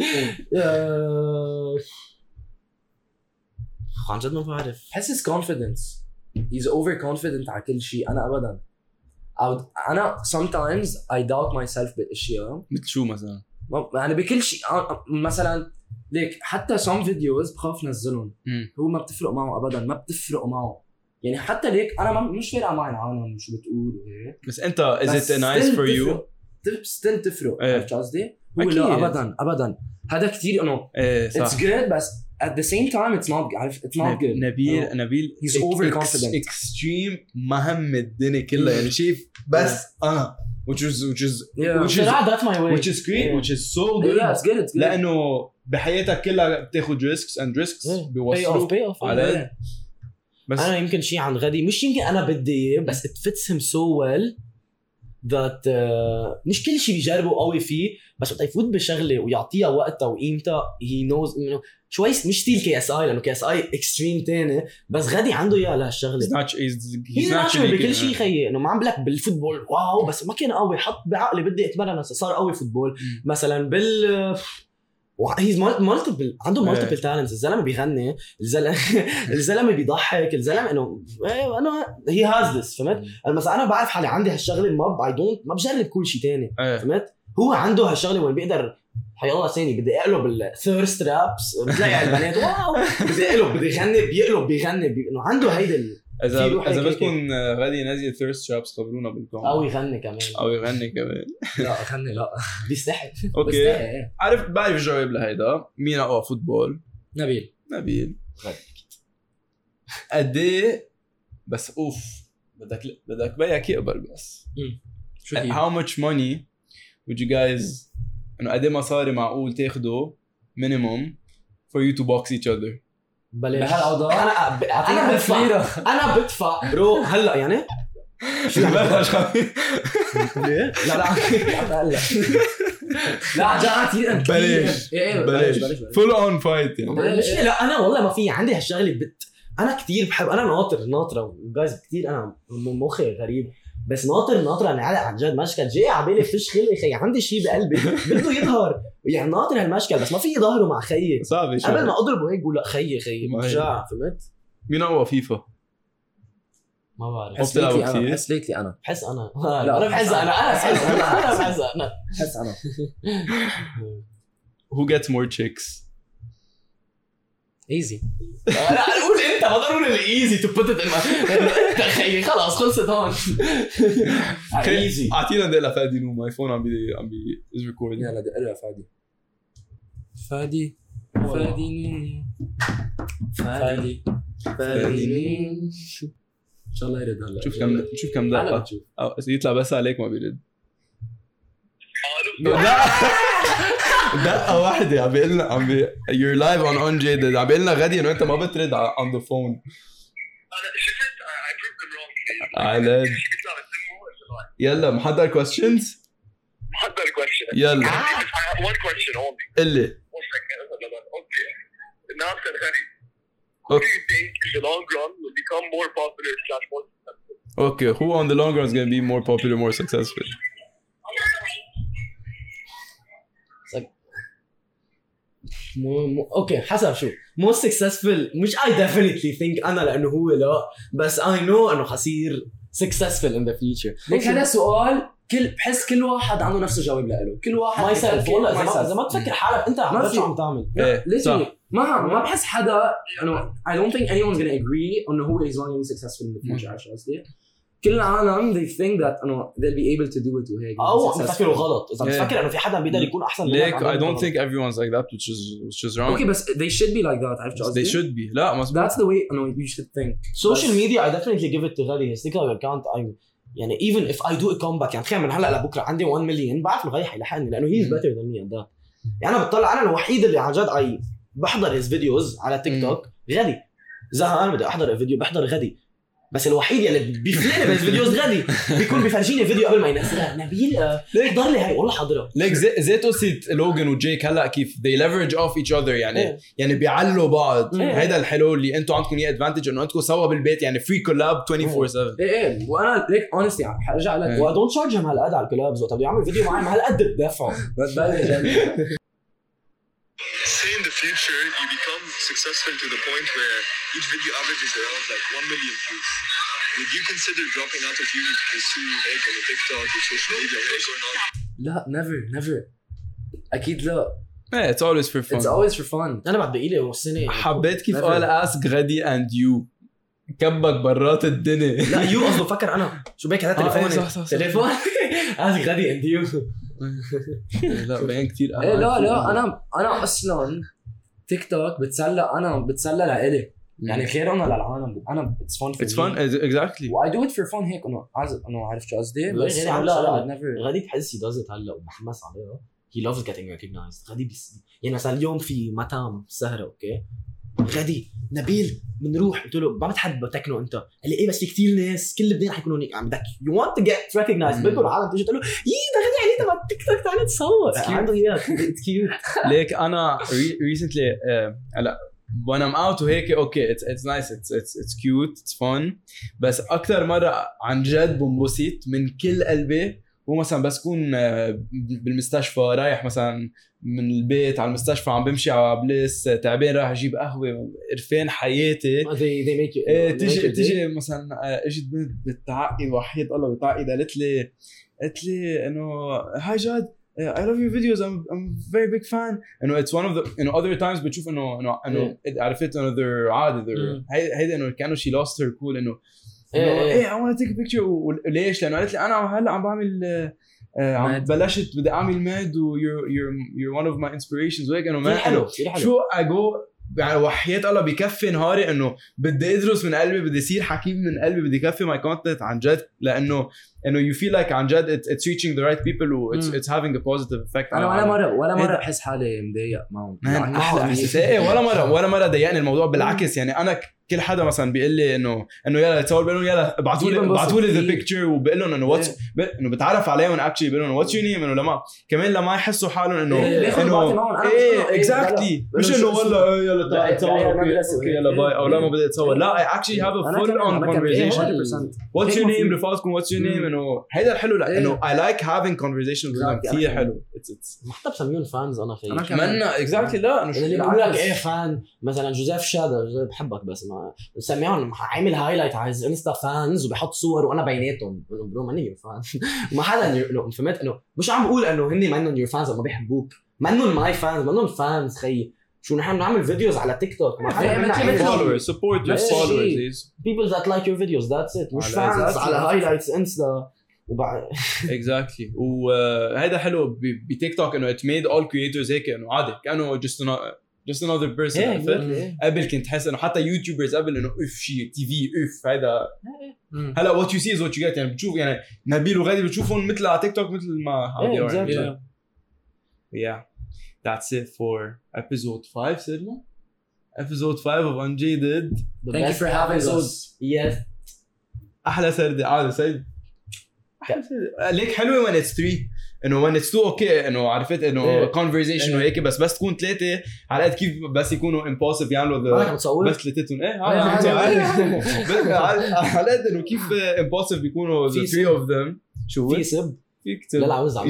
عن جد ما بعرف حسس كونفيدنس هيز اوفر كونفيدنت على كل شيء انا ابدا انا sometimes I doubt myself بالاشياء مثل شو مثلا يعني بكل شيء مثلا ليك حتى some videos بخاف نزلهم هو ما بتفرق معه ابدا ما بتفرق معه يعني حتى ليك انا مش فارقه معي العالم شو بتقول وهيك بس انت is it nice for you ستيل تفرق إيه. عرفت قصدي؟ هو أكيد. لا ابدا هذا كثير انه ايه صح it's good بس at the same time it's not عارف it's not good نبيل He's overconfident. extreme مهم الدنيا كلها يعني شايف بس انا which is بصراحه that's my way which is great Yeah. which is so good yeah it's good it's good لانه بحياتك كلها بتاخد risks and risks pay بيوصلوا off على بس انا يمكن شيء عن غدي مش يمكن انا بدي اياه بس it fits him so well that مش كل شيء بيجربه قوي فيه بس وقت يفوت بشغله ويعطيها وقتها وقيمتها he knows انه شوي مش ستيل KSI لانه KSI اكستريم تاني بس غدي عنده اياها لهالشغله he's هي naturally بكل شيء خيي انه ما عم بلك بالفوتبول واو بس ما كان قوي حط بعقلي بدي اتمرن صار قوي فوتبول مثلا بال هيز مالتيبل عنده مالتيبل تالنتس الزلمه بيغني الزلمه بيضحك الزلمه انه انا هي هاز ذس فهمت مثلا انا بعرف حالي عندي هالشغله ما بجرب كل شيء تاني فهمت هو عنده هالشغله وين بيقدر حيالله ثاني بدي اقلب الثيرست رابس بتلاقي البنات واو بدي اقلب بدي يغني بيغني انه عنده هيدا اذا بدكم غادي نازل ثيرست شابس خبرونا بالكومنت او يغني كمان او يغني كمان لا خلني لا بيستحي اوكي إيه. بعرف جواب لهيدا مين اقوى فوتبول نبيل قد ايه بس اوف بدك بيك يقبل بس شو هي؟ how much money would you guys انه قد ايه مصاري معقول تاخده minimum for you to box each other؟ بلاش بهالأوضاع؟ انا بدفع برو هلا يعني شو بلاش ليه؟ لا لا جاء بلاش بلاش full on fight يعني مش لا انا والله ما في عندي هالشغله انا كتير بحب انا ناطره جايز كتير انا مخي غريب بس ناطر انا عن جد مشكل جاي على بالي فيش خلق خي عندي شيء بقلبي بده يظهر يعني ناطر هالمشكل بس ما في ظهره مع خيي صعب قبل ما اضربه هيك بقول لا خيي مرجع فهمت مين اقوى فيفا؟ ما بعرف بحس ليتلي أنا بحس ليتلي أنا بحس انا لا، انا بحس انا بحس أنا who gets more chicks؟ easy لا قول انت ما ضروري الايزي تو بوت ات انت خيي خلاص خلصت هون ايزي اعطينا دقيقه فادي نو ماي فون عم بي از ريكوردينج يلا دق لها فادي ان شاء الله يرد هلا شوف كم دقه او يطلع بس عليك ما بيرد دقه واحده عم بيقول لنا you're live on Unjaded عم بيقول لنا غادي انه انت ما بترد on the phone انا شفت I proved them wrong علاج يلا محضر questions محضر question يلا I have one question only قلي okay Nas and Hari who do you think in the long run will become more popular / more successful okay who on the long run is going to be more popular more successful اوكي حسب شو most successful مش I definitely think انا لانه هو لا بس I know انه حصير successful in the future ليك هذا سؤال بحس كل واحد عنده نفس الجواب له كل واحد ما يسأل والله اذا ما تفكر حالك انت شو عم تعمل ليش ما بحس حدا انه I don't think anyone's gonna agree انه هو is going to be successful in the future عشان قصدي كل العالم they think that انه they'll be able to do it وهيك او عم تفكروا غلط اذا بتفكر انه في حدا بيقدر يكون احسن منك I don't think everyone's like that which is wrong okay but they should be like that عرفت قصدي they should be لا مزبوط that's the way you should think social media I definitely give it to غالي his TikTok account يعني even if I do a comeback يعني تخيل من هلا لبكره عندي 1 مليون بعرف له غاي حيلحقني لانه he's better than me at that يعني انا بطلع انا الوحيد اللي عن جد بحضر his videos على تيك توك غادي زهقان بدي احضر الفيديو بحضر غادي بس الوحيد اللي بيفلني بالفيديوز غادي بيكون بيفرجيني فيديو قبل ما ينزلها نبيل احضر لي هاي والله حاضره ليك زي قصه لوجن وجيك هلا كيف they leverage off each other يعني بيعلوا بعض هيدا الحلو اللي انتم عندكم اياه ادفانتج انه انتم سوا بالبيت يعني فري كولاب 24/7 ايه وانا ليك اونستي حرجع لك و don't charge him هالقد على الكولابز وقت بده يعمل فيديو معي ما هالقد بدفعه say in the future you become successful to the point where each video averages around like 1 million views. Would you consider dropping out of YouTube to pursue like on TikTok or social media or not? لا never اكيد لا yeah it's always for fun it's always for fun انا بعد بقيلي والسنه حبيت كيف قال ask غادي and you كبك برات الدنيا لا يو قصده فكر انا شو بك هذا تليفون ask غادي and you لا بين كتير لا انا اصلا تيك توك بتسلى لإلي يعني غير انا للعالم انا it's fun exactly I do it for fun هيك انا عارف شو قصدي بس لا غادي بحس he does it هلا ومحمس عليها he loves getting recognized غادي يعني مثلا اليوم في مطعم سهره اوكي غادي نبيل بنروح قلت له ما بتحب تكنو انت قال لي ايه بس في كتير ناس كل لبنان حيكونوا هيك عم بدك you want to get recognized بده العالم تيجي تقول له ده غادي عليه تبع التيك توك تعال تصور عنده اياه it's cute ليك انا recently هلا when I'm out وهيك اوكي it's nice it's cute it's fun بس اكثر مره عن جد بنبسط من كل قلبي هو مثلا بس كون بالمستشفى رايح مثلا من البيت على المستشفى عم بمشي على بليس تعبان رايح اجيب قهوه قرفان حياتي they make you تيجي مثلا اجت بنت بتعقد وحيد الله بتعقد قالت لي انه هاي جاد I love your videos I'm very big fan انه it's one of the other times بتشوف انه عرفت another عادي هيدا انه كانه she lost her cool انه I want to take a picture وليش لانه قالت لي انا هلا عم بعمل عم بلشت بدي اعمل ماد و you're one of my inspirations وهيك انه ما حلو شو I go يعني وحياة الله بكفي نهاري انه بدي ادرس من قلبي، بدي اصير حكيم من قلبي، بدي كفي ماي كونتنت عن جد، لانه you feel like عن جد it's reaching the right people و it's having a positive effect. انا ولا مره بحس حالي مضايق معهم. احلى احساس. ولا مره ضايقني الموضوع، بالعكس يعني انا كل حدا مثلا بيقول لي انه يلا تصور، بقول لهم يلا ابعثوا لي ذا بيكتشر، وبقول لهم انه واتس انه بتعرف عليهم اكشلي، بقول لهم واتس يور نيم، انه لما كمان لما يحسوا حالهم انه اكزاكتلي مش انه والله يلا تعال تصور اوكي يلا باي، او لا ما بدي اتصور، لا اكشلي هاف ا فول اون كونفرسيشن. واتس يور نيم رفاقكم، واتس يور نيم، انه هيدا الحلو، لانه اي لايك هافينج كونفرسيشنز كثير حلو. حتى بسميهم فانز انا خيي اتمنى اكزاكتلي. لا انه اللي بيقول لك ايه فان مثلا جوزيف شادا، جوزيف بحبك بس ما بسميهم عامل هايلايت على انستا فانز وبيحط صور وانا بيناتهم برو ماني يور فان. ما حدا فهمت انه مش عم بقول انه هن منهم يور فانز ما بيحبوك، منهم ماي فانز، منهم فانز خيي. شو نحن بنعمل فيديوز على تيك توك، ما حدا followers support your followers people that like your videos that's it، مش فانز على هايلايتس انستا وبعد exactly. وهذا حلو بتيك توك انه it made all creators هيك انه عادي كانه just another person. قبل كنت حس انه حتى يوتيوبرز قبل انه اف شيء تي في اف هذا، هلا what you see is what you get. يعني بتشوف يعني نبيل وغادي بتشوفهم مثل على تيك توك مثل ما عم yeah that's it for episode 5. صرنا episode 5 of Unjaded. Thank you for having us. yes احلى سردة عادي سيد ليك حلوه when it's 3 انه when it's 2 اوكي انه عرفت انه conversation وهيك، بس تكون 3 على قد كيف بس يكونوا impossible يعملوا بس ثلاثتهم على قد انه كيف impossible بيكونوا the 3 of them. شو في سب فيك تسب؟ لا عاوز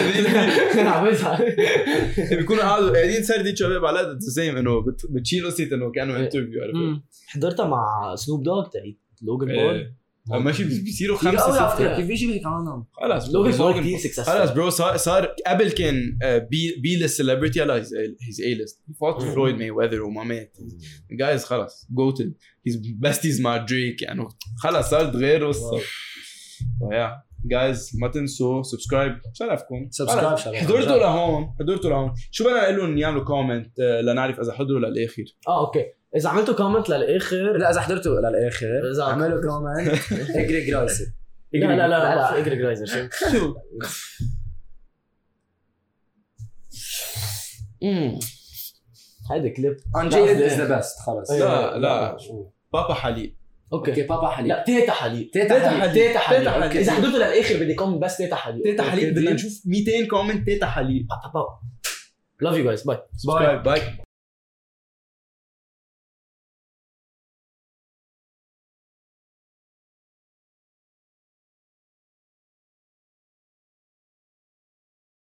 بيكونوا قاعدين سردي شباب على قد the same انه بتشيل قصه انه كانوا انترفيو. عرفت حضرتها مع سنوب دوغ تاعت لوجان بول ماشي بيصيروا 5 كيف بيجي بهيك عنهم. خلاص لوجان بول كثير سكسسفل. خلاص برو صار قبل كان بي ليست سيلبرتي، هلا هيز اي ليست. فوت فلويد ماي ويذر وما مات جايز خلاص جوتد هيز بيستيز مع دريك يعني خلاص صارت غير قصه. فيا جايز ما تنسوا سبسكرايب. شرفكم حضرتوا لهون شو بدنا نقول لهم يعملوا كومنت لنعرف اذا حضروا للاخر. اوكي اذا عملتوا كومنت للاخر، لا اذا حضرتوا للاخر اعملوا كومنت اجري جرايزر. لا اجري جرايزر شو هيدا كليب Unjaded is the best. خلص لا بابا حليب. اوكي بابا حليب. لا تيتا حليب. اذا حضرتوا للاخر بدي كومنت بس تيتا حليب. بدنا نشوف 200 كومنت تيتا حليب. love you guys bye. Bye.